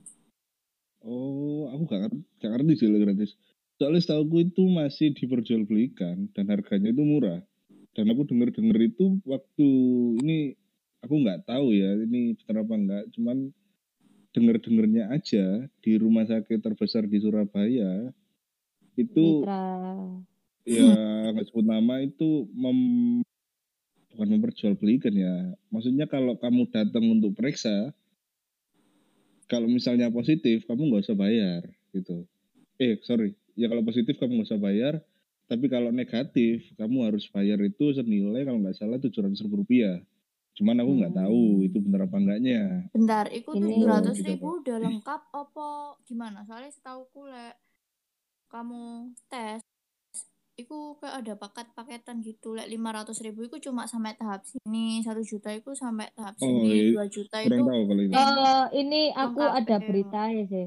Oh, aku gak ngerti, gak ngerti sih lek gratis. Soalnya setahu itu masih diperjualbelikan dan harganya itu murah. Dan aku denger-denger itu waktu ini aku nggak tahu ya ini benar apa enggak, cuman denger-dengernya aja di rumah sakit terbesar di Surabaya itu Mitra. ya nggak sebut nama itu mem, bukan memperjualbelikan ya. Maksudnya kalau kamu datang untuk periksa, kalau misalnya positif kamu nggak usah bayar gitu. Eh sorry, ya kalau positif kamu nggak usah bayar, tapi kalau negatif kamu harus bayar itu senilai kalau nggak salah tujuh ratus ribu rupiah. Cuman aku nggak Hmm. tahu itu benar apa enggaknya. Bentar, iku Ini- tujuh ratus Gitu, ribu udah lengkap apa gimana? Soalnya setauku lek kamu tes iku kayak ada paket-paketan gitu. Lek lima ratus ribu iku cuma sampai tahap sini, satu juta iku sampai tahap Oh, sini, iya. dua juta Kurang itu tahu kalau itu. Eh, ini aku Lengkap, ada eh. beritanya sih.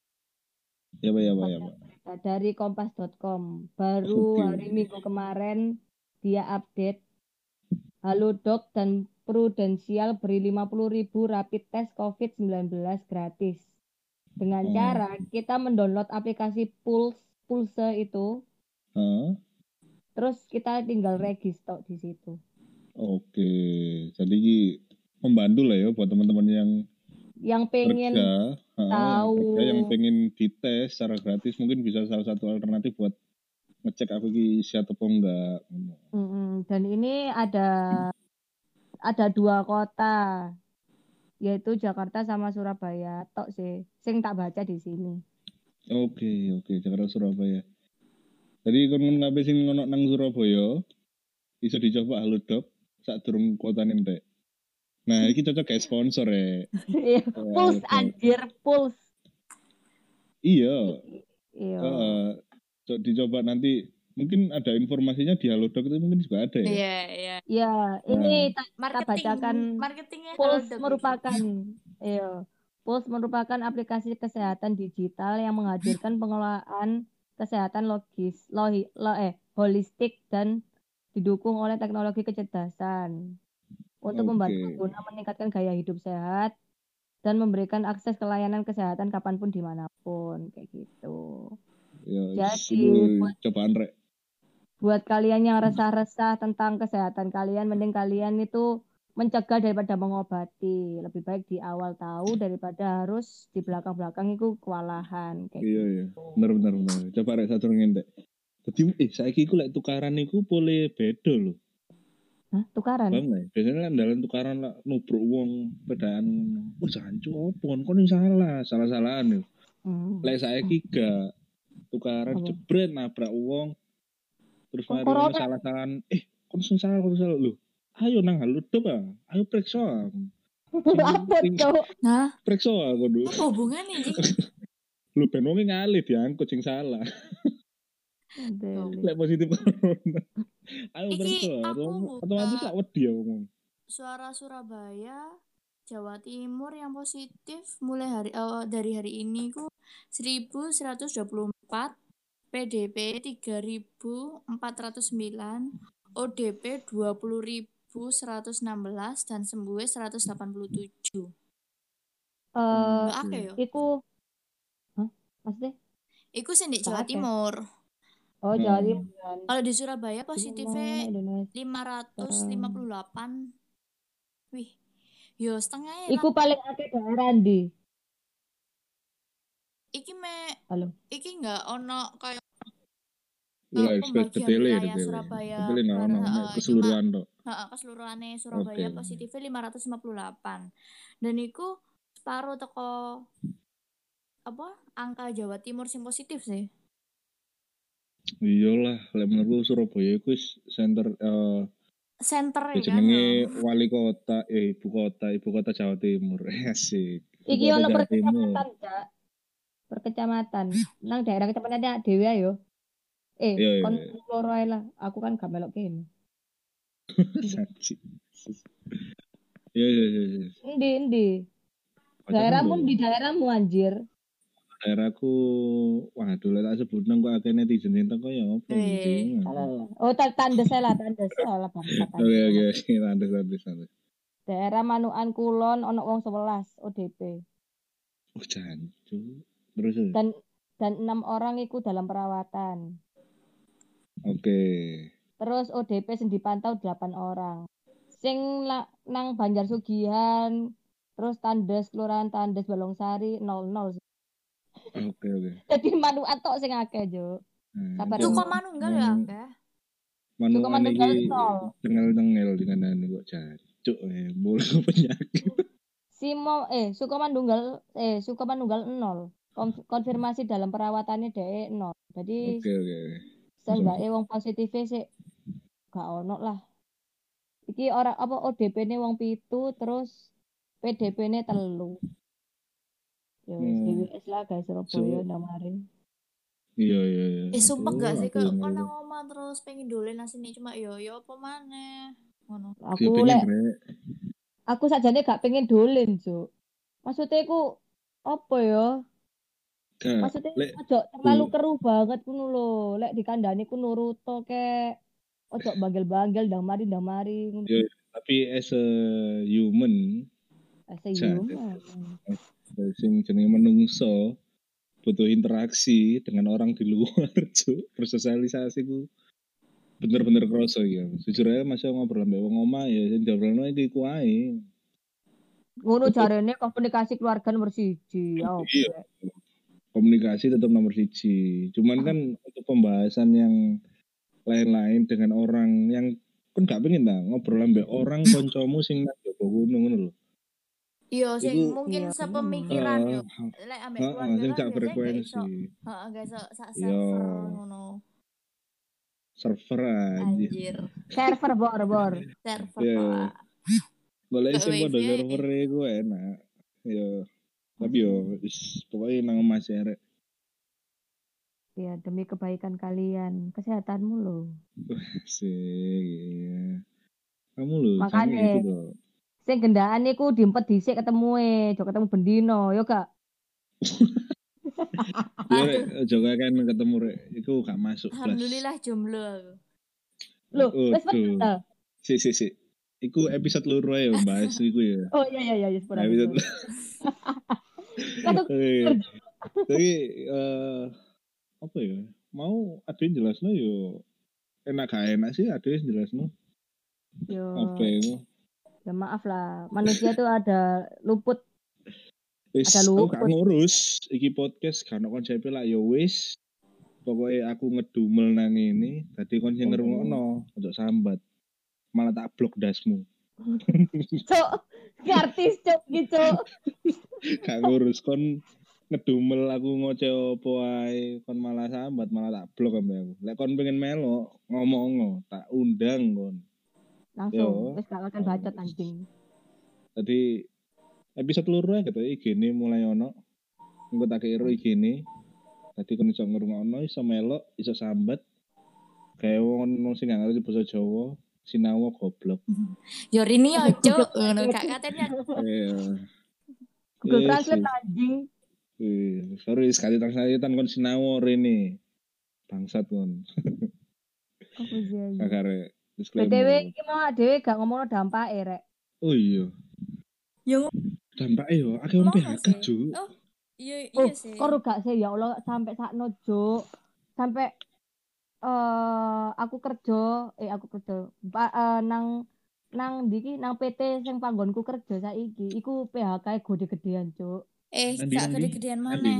Ya Pak, ya Pak, ya Pak. Dari kompas dot com. Baru Oke. hari Minggu kemarin dia update Halodoc dan Prudensial beri lima puluh ribu rapid test covid sembilan belas gratis. Dengan Oh. cara kita mendownload aplikasi Pulse Pulse itu, Hah? terus kita tinggal register di situ. Oke. Jadi membantu lah ya buat teman-teman yang Yang pengen kerja, ha, yang tahu. kerja yang pengen dites secara gratis mungkin bisa salah satu alternatif buat ngecek aku iki siap apa enggak. Mm-mm. Dan ini ada ada dua kota, yaitu Jakarta sama Surabaya tok sih sing tak baca di sini. Oke, oke, Jakarta Surabaya. Jadi kon kabeh sing ngono nang Surabaya iso dicoba Halodoc sak durung kota entek. Nah, iki cocok kayak sponsor ya. Iya, Pulse anjir, Pulse. Iya. Iya. Uh, so, dicoba nanti mungkin ada informasinya di Halodoc itu mungkin juga ada ya. Iya, iya. Ya, ini tak ta Marketing, bacakan marketingnya Pulse Halodoc merupakan iya. Pulse merupakan aplikasi kesehatan digital yang menghadirkan pengelolaan kesehatan logis, lohi, lo, eh, holistik dan didukung oleh teknologi kecerdasan untuk membantu Oke. pengguna meningkatkan gaya hidup sehat dan memberikan akses ke layanan kesehatan kapanpun dimanapun kayak gitu. Ya, Jadi buat, cobaan rek. buat kalian yang resah-resah tentang kesehatan kalian, mending kalian itu mencegah daripada mengobati. Lebih baik di awal tahu daripada harus di belakang-belakang itu kewalahan kayak Iya, gitu. iya. Bener, bener, bener. Coba rek satu ngentek. Jadi, eh, saiki ku lek tukaran iku boleh beda loh. Hah, tukaran? Bang, ya? Biasanya kan dalam tukaran lah, nubruk uang pedaan. Oh, jancu, apa? Kon ini salah, salah-salahan ya. Hmm. Lek saiki gak tukaran Apa? jebret nabrak uang. Terus Kok mari corona? ono salah-salahan. Eh, kon sing salah, kon salah lho. Ayo nang Halodoc ah. Ayo periksa. Apa tuh? Nah, periksa aku dulu. apa hubungannya Ji? Lu ben wong ngalih diangkut sing salah. Lek positif corona. Ayo Iki periksa. aku Otomatis buka lak wedi ya ngomong. Suara Surabaya, Jawa Timur yang positif mulai hari uh, dari hari ini ku seribu seratus dua puluh empat, P D P tiga ribu empat ratus sembilan, O D P dua puluh ribu seratus enam belas dan sembuh seratus delapan puluh tujuh. Eh, uh, akeh yo. Iku hah? Maksudnya? Iku sing di Jawa Timur. Oh, Jawa Timur. Kalau di Surabaya positifnya lima ratus lima puluh delapan. Wih. Yo setengahnya. Iku paling akeh daerah ndi? Iki me Halo. Iki enggak ono kayak uh, pembagian wilayah Surabaya uh, keseluruhan tok. Heeh, keseluruhannya Surabaya okay. Positifnya lima ratus lima puluh delapan. Dan iku separuh teko apa? Angka Jawa Timur sing positif sih. Iyalah, lek menurutku Surabaya iku center uh, center ya kan. Jenenge wali kota, eh ibu kota, ibu kota Jawa Timur. Asik. Iki ono per kecamatan, Cak. Per kecamatan. Nang daerah kecamatan dhewe yo. Eh, iya, kon iya. loro ae lah. Aku kan gak melok kene. Saji. Iya, iya, iya. Endi, endi? Daerahmu di daerahmu anjir. Daerahku, waduh lah tak sebut nang kok akeh netizen entek kok ya opo iki. Oh, tandes lah, tandes lah bangsa. Oke, oke, tandes, tandes, tandes. Daerah Manukan Kulon ono wong sebelas O D P. Oh, jancu. Terus dan dan enam orang itu dalam perawatan. Oke. Okay. Terus O D P sing dipantau delapan orang. Sing la, nang Banjarsugihan, terus Tandes, Kelurahan Tandes, Balongsari nol nol. Oke, okay, oke. Okay. Jadi Manukan tok sing akeh, Jo. Hmm, Suka Manunggal ya akeh. Manukan iki tengel-tengel dengan ane kok jancuk eh mulai penyakit. Simo eh Sukamandunggal eh Sukamandunggal nol. Konfirmasi dalam perawatannya dhek nol. Jadi Oke, okay, oke. Okay. Seenggaknya wong positifnya sih gak ono lah. Iki orang apa O D P-ne wong pitu terus P D P-ne telu. Ya wis D W S lah guys Surabaya ndak mari. Iya iya iya. Eh sumpah gak sih kok kon nang omah terus pengen dolen asine cuma yo yo apa maneh. Ngono. Aku lek Aku sajane gak pengen dolen, Juk. Maksudnya aku apa ya? Maksudnya ojo terlalu keruh banget ngono lho. Lek dikandani ku nurut to kek. Ojo banggel-banggel ndang mari ndang mari ngono. Ya, tapi as a human, as a human. Sing jenenge menungso butuh interaksi dengan orang di luar, Cuk. Bersosialisasi ku bener-bener kroso ya. Jujur aja masih ngobrol mbek wong omah ya sing diobrolno iki ku ae. Ngono jarene komunikasi keluarga nomor siji. Iya. Komunikasi tetap nomor siji. Cuman kan untuk pembahasan yang lain-lain dengan orang yang kan gak pengen ta ngobrol ambek orang kancamu sing nang jaba gunung ngono lho. Iya sing Iku mungkin Iya. sepemikiran heeh, yo. Lek ambek heeh, keluarga sing kan gak biasanya gak iso. frekuensi. Heeh, gak iso sak Iya. server ngono. Server aja. Anjir. Server bor-bor. Server Iya. Pak. Golek Gak sing padha wifi. server iku enak. Yo. Tapi yo wis pokoke nang omah sih arek. Ya demi kebaikan kalian, kesehatanmu loh. Sih, iya. Kamu lho, Makanya jangan gitu loh. sing gendaan iku diempet dhisik ketemu e, aja ketemu bendino, yo gak. Ya Aduh, rek, juga kan ketemu rek, itu gak masuk kelas. alhamdulillah jomblo aku. Loh, wis Waduh. bener. Si si si. Iku episode loro ya bahas iku ya. Oh iya iya iya, sepura Episode. sepura. Oke. Tapi eh apa ya? Mau ada yang jelasno yo enak gak enak sih ada yang jelasno. Yo, Apa itu? ya maaf lah, manusia tuh ada luput. Wis, Ada aku luput. gak ngurus iki podcast kan konsepnya lah ya wis. Pokoknya aku ngedumel nang ini, tadi kon sing ngrungokno, ojo sambat. Malah tak blok dasmu. Cuk, artis cuk gitu. Gak ngurus kon ngedumel aku ngoceh opo ae, kon malah sambat, malah tak blok ambek aku. Lek kon pengen melo, ngomong tak undang kon. Langsung, wis gak akan bacot anjing. Tadi episode loro ya gitu, I G ini mulai ono. Engko tak kira I G ini. Tadi kon iso ngrungokno, iso melo, iso sambat. Kayak wong sing gak ngerti basa Jawa, sinawa goblok. Yo rini yo cuk, ngono gak katanya. Iya. Google Yes, Translate yes. anjing. Wih, sorry sekali translatean kon sinawa rene. Bangsat kon. Apa sih? Kakare B T W disclaimer. iki mau dhewe gak ngomongno dampake rek. Oh iya. Yo Dampake yo akeh wong P H K, Juk. Oh, iya Oh, iya sih. kok gak sih ya Allah sampai sakno Juk. Sampai eh aku kerja, eh aku kerja pa, eh, nang nang ndi ki nang P T sing panggonku kerja saiki iku P H K gede-gedean, Cuk. Eh, Andi, gak Andi, gede-gedean Andi. maneh.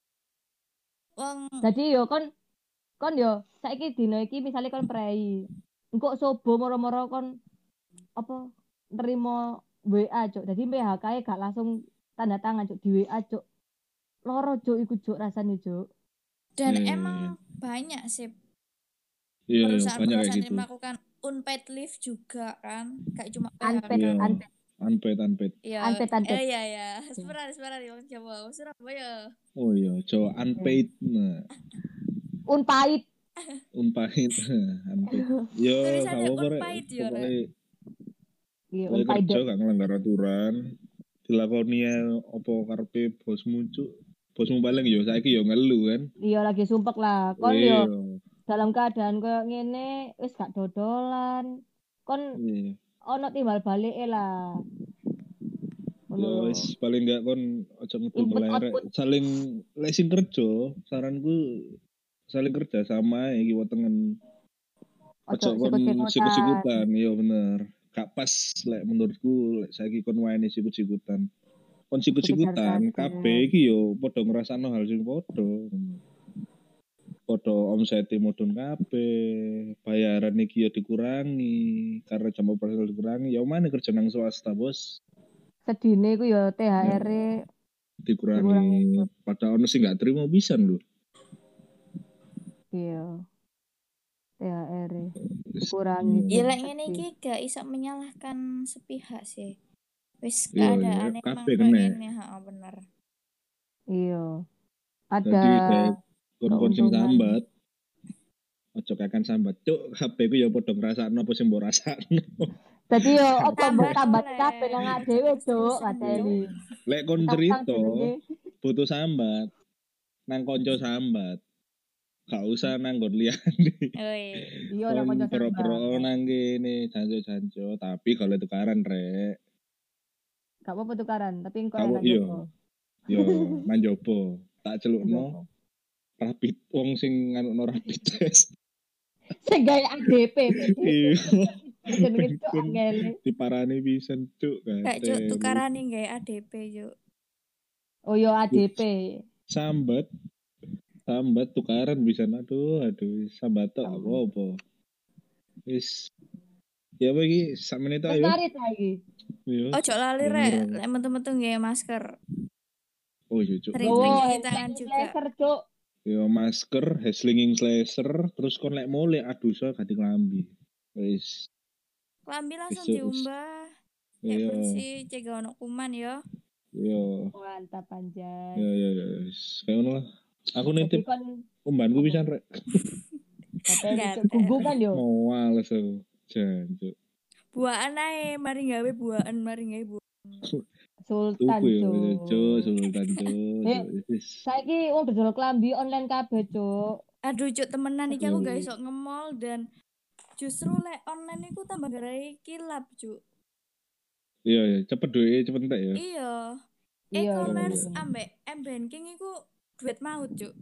Wong Jadi yo kon kon yo saiki dino iki misalnya kon prei. Engko sobo moro-moro kon apa nerima W A, Cuk. Jadi P H K gak langsung tanda tangan, Cuk, di W A, Cuk. Loro, Cuk, iku Cuk rasane, Cuk. dan Iya, iya, emang iya. banyak sih Iya, iya, banyak kayak perusahaan-perusahaan gitu. yang melakukan unpaid leave juga kan, kayak cuma Unpaid, Iya. unpaid. Unpaid, unpaid. Iya, Unpaid, unpaid. eh, iya ya, sebenarnya sebenarnya wong Jawa, Surabaya. Oh iya, Jawa unpaid. Nah, Unpaid. unpaid. Unpaid. Yo, Tulisannya gak apa-apa rek. unpaid yo, Rek. Pokoknya Iya, pokoknya unpaid. kerja gak ngelanggar aturan. Dilakoni opo karepe bosmu, Cuk. Bosmu paling yo saiki yo ngeluh kan. Iya lagi sumpek lah. Kon Iya. yo dalam keadaan koyo ngene wis gak dodolan. Kon Iya. ono timbal balik lah. Ngono Ya lho. wis paling gak kon aja ngedumel Input, arek. output. Saling lek sing kerja, saranku saling kerja sama iki wetengen. Ojo Aja kon sikut-sikutan. sikut-sikutan, iya bener. Gak pas lek menurutku lek saiki kon wani sikut-sikutan. Kon sikut-sikutan Dikejar-kejar. kabeh iki yo padha ngrasakno hal sing padha. Padha omsete mudhun kabeh, bayaran iki yo dikurangi karena jam operasional dikurangi. Ya mana kerja nang swasta, Bos? Sedine iku yo T H R-e Dikurangi. Dikurangi. Padahal ono sing gak terima pisan lho. iya. T H R-e dikurangi. Hmm. Ya lek ngene iki gak iso menyalahkan sepihak sih. Wis Iya, keadaan iya, emang kabeh kayak kena. ngene, heeh bener. Iya. Ada Jadi kayak kon-kon sing keuntungan. sambat. Ojo kakan sambat. Cuk, H P ku ya padha ngrasakno apa sing mbok rasakno. Dadi yo apa Tambah mbok tambah oleh. kabeh nang awake dhewe, Cuk, kateni. Lek kon Tentang cerita jenenge. butuh sambat. Nang konco sambat. Gak usah nang nggon liyane. Oi. Iya nang Kon kanca pro-pro sambat. nang kene janjo-janjo, tapi kalau tukaran rek. Gak apa-apa tukaran, tapi engko Kamu enak iya. jopo. Yo, nang jopo. Tak celukno rapid wong sing nganukno rapid test. Sing gawe A D P. Iya. Jenenge Cuk angele. Diparani pisan, Cuk. Gak cuk tukaran nih gawe A D P yuk. Oh yo A D P. Sambat Sambat tukaran bisa aduh aduh sambat tok Sambat. apa-apa. Wis ya apa iki sak menit Wis ayo. ngarit lagi. Yo. Ojo lali rek, lek metu-metu nggih masker. Oh iya cuk. Sering-sering Oh, cuci tangan juga. laser, Cuk. Yo masker, slinging slasher, terus kon lek mule aduh so ganti klambi. Wis. Klambi langsung Wis, wis. diumbah. Kayak Iya. bersih, cegah ono kuman ya. Yo. Mantap anjay. Yo yo yo wis. Kayak ngono lah. Aku Jadi nitip kon umbanku pisan rek. katanya Gatel. Cuk gugu kan yo. Mau males aku. Jan cuk. Buahan ae, mari gawe buahan, mari gawe buahan. Sultan, Tuku yo Cuk. cuk, sultan cuk. Eh, Wis. saiki wong dodol klambi online kabeh, Cuk. Aduh cuk temenan iki aku Aduh. gak iso nge-mall dan justru lek online iku tambah garai kilap cuk. Iya ya, cepet duit, cepet entek ya. Iya. Iya, E-commerce iya. ambek m-banking iku duit maut cuk.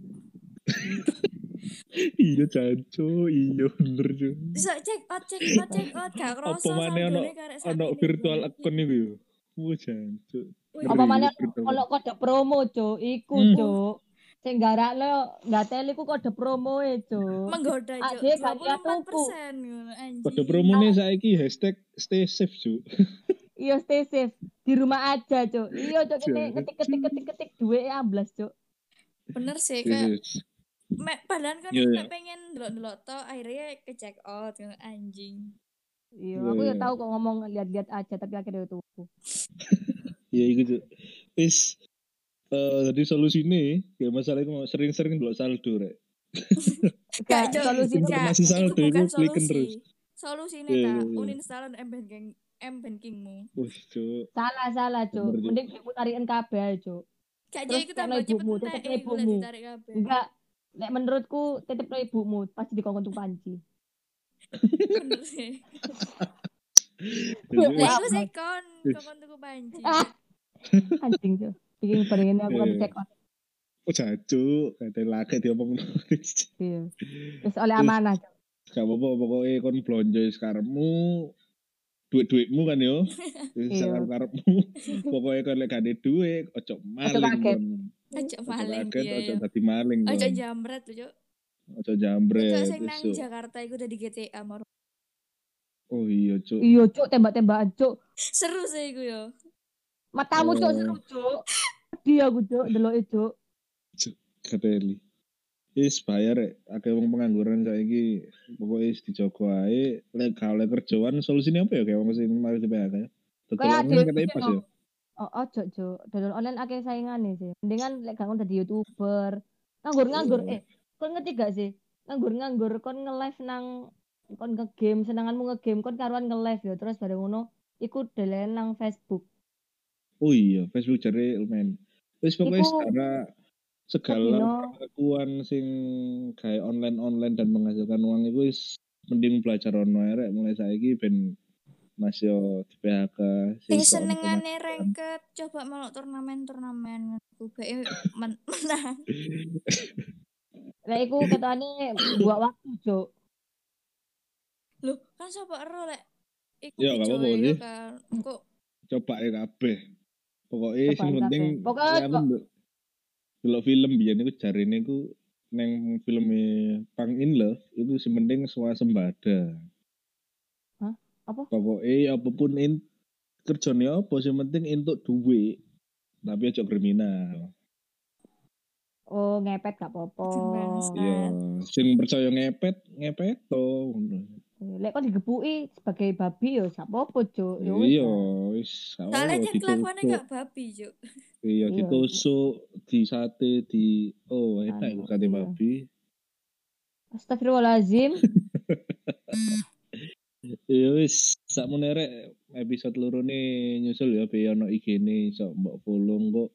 Iya cancu, iya bener cu. Iso check out, check out, check out gak Apa kroso mana ono saldone karek sak ono ini, virtual Bro. account itu yo. Wah cancu. Apa mana ono kode promo, Cuk. Iku, Hmm. Cuk. Sing garakno ngateli ku kode promo e, Cuk. Menggoda Ah, cuk. dia dua gak puluh empat tuku. persen ngono anjing. Kode promone saiki hashtag stay safe cu. Iya, stay safe. Di rumah aja, Cuk. Iya, Cuk, kene Jangan, ngetik-ketik-ketik-ketik duwe amblas, Cuk. Bener sih Yes, kayak yes. me, padahal kan Iya, iya. mek pengen ndelok-ndelok to akhirnya ke check out ngono anjing. Iya, Iya, aku ya iya. tahu kok ngomong lihat-lihat aja tapi akhirnya tuku. Iya iku cu. Wis eh jadi solusine ya masalah iku sering-sering ndelok saldo rek. Gak Gak Cuk, solusi gak, Informasi iku saldo bukan iku kliken terus. solusi. Solusine Iya, ta iya, iya. uninstall m-banking m-bankingmu. Wih cu. salah salah, Cuk. Bener, Cuk. Mending dimu tarikin kabeh, Cuk. Gak Terus Cuk iku tekno tambah cepet ibumu, entek tetep iku lek ibumu. ditarik kabeh. Enggak, nek menurutku titip ibumu pasti dikongkon tuh panci. Bener sih. Jadi, Lah wis. iku sekon kokon tuku panci. Ah, anjing, Cuk. Bikin barengin aku kan Iya. cek out. Oh jacu, kata lagi diomong nulis. Iya. Terus oleh amanah, Cuk. Gak apa-apa, pokoknya kon blonjo sekarangmu, duit-duitmu kan yo. Iya. Sekarang karepmu, pokoknya kon lek gak duit, ojo maling kaget. kon. Ojo maling kaget, iya. ojo iya. dadi maling Ojo kon. jambret lho, Cuk. Ojo jambret. Cuk sing nang besok. Jakarta iku udah di G T A moro. Oh iya, Cuk. Iya, Cuk, tembak-tembakan, Cuk. Seru sih iku yo. Matamu, Cuk, Oh. seru, Cuk. Dia aku, Cuk, deloke, Cuk. Kateli. Wis bayar rek, akeh wong pengangguran saiki pokoke wis dijogo ae. Lek gak oleh kerjaan solusine apa ya kayak wong sing mari di P H K ya. Dodol Kayak online ada katanya pas ya. Oh, ojo, Cuk. Dodol online akeh saingane sih. Mendingan lek gak ngono dadi YouTuber. Nganggur-nganggur eh kon ngerti gak sih? Nganggur-nganggur kon nge-live nang kon nge-game, senenganmu nge-game kon karuan nge-live ya. Terus bareng ngono iku delen nang Facebook. Oh iya, Facebook jare lumayan. Wis pokoknya Iku- segala segala Sedino. kekuatan sing kayak online-online dan menghasilkan uang itu wis mending belajar ono ae rek mulai saiki ben Mas yo di P H K Sing iso ono senengane pemasukan. ranket coba melok turnamen-turnamen ku bae men- menang. Lek iku ketane buat waktu, Cuk. Loh, kan sapa ero lek iku Ya, gak apa-apa dicowe sih. kan. Kok Coba ya kabeh. Pokoknya Cobain sing penting kabeh. Pokoknya ya aku kok- ndelok delok film biyen iku jarine iku neng filme Pang in Love itu sing penting swasembada. Hah? Apa? Pokoknya apapun in kerjane apa sing penting entuk duit. Tapi aja kriminal. Oh, ngepet gak apa-apa. Bangsa. Iya, sing percaya ngepet, ngepet to. Lek kon digepuki sebagai babi ya gak apa-apa, Cuk. Ya wis. Iya, lah. wis. Soalnya oh, kan kelakuannya ditusuk. gak babi, Cuk. Iya, Iya. ditusuk, di sate, di oh, enak Anu, iku sate iya. babi. Astagfirullahalazim. Ya wis, sakmene rek episode loro ne nyusul ya be ono I G-ne iso mbok follow kok.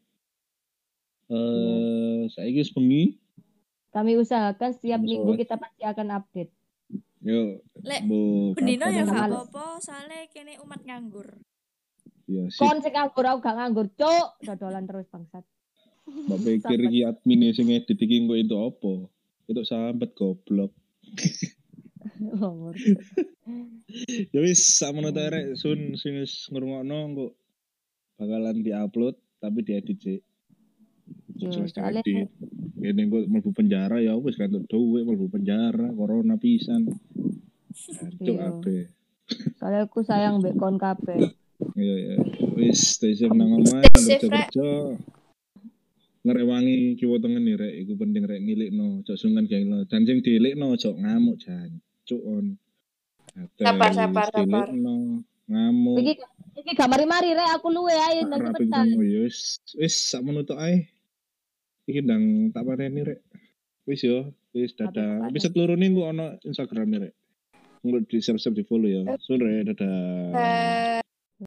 Eh, saiki wis bengi. Kami usahakan setiap Kamu minggu sholat. kita pasti akan update. Yo, Lek, bu Bendino ya kapan gak aja. males. apa-apa, soalnya kene umat nganggur. Ya sip, Kon sing nganggur aku gak nganggur, Cuk. Dodolan terus bangsat. mbak pikir iki admin sing edit iki engko entuk apa? Entuk sambat goblok. Longor. Ya wis, sakmono ta rek sun sing wis ngrungokno engko bakalan diupload tapi diedit sih. Yo, Jelas soalnya diedit. Kene kok mlebu penjara ya wis kan duwe mlebu penjara corona pisan. Cuk Iya. ape. Soalnya aku sayang mbek kon kabeh. Iya ya. Wis stay safe nang omah Stay safe, Rek. kerja-kerja. Ngerewangi kiwa tengen nih rek iku penting rek ngilikno cok sungan gengno. Dan sing diilikno cok ngamuk jan. Cuk on. Sabar, sabar, sabar. Diilikno ngamuk. Iki iki gak mari-mari rek aku luwe ayo nang Rapi cepetan. ketemu ya wis wis sak menutuk ae. Iki ndang tak pareni rek. Wis yo, wis dadah. Episode loro ning ku ono Instagram rek. Engko di share-share di follow ya. Sore dadah. Eh,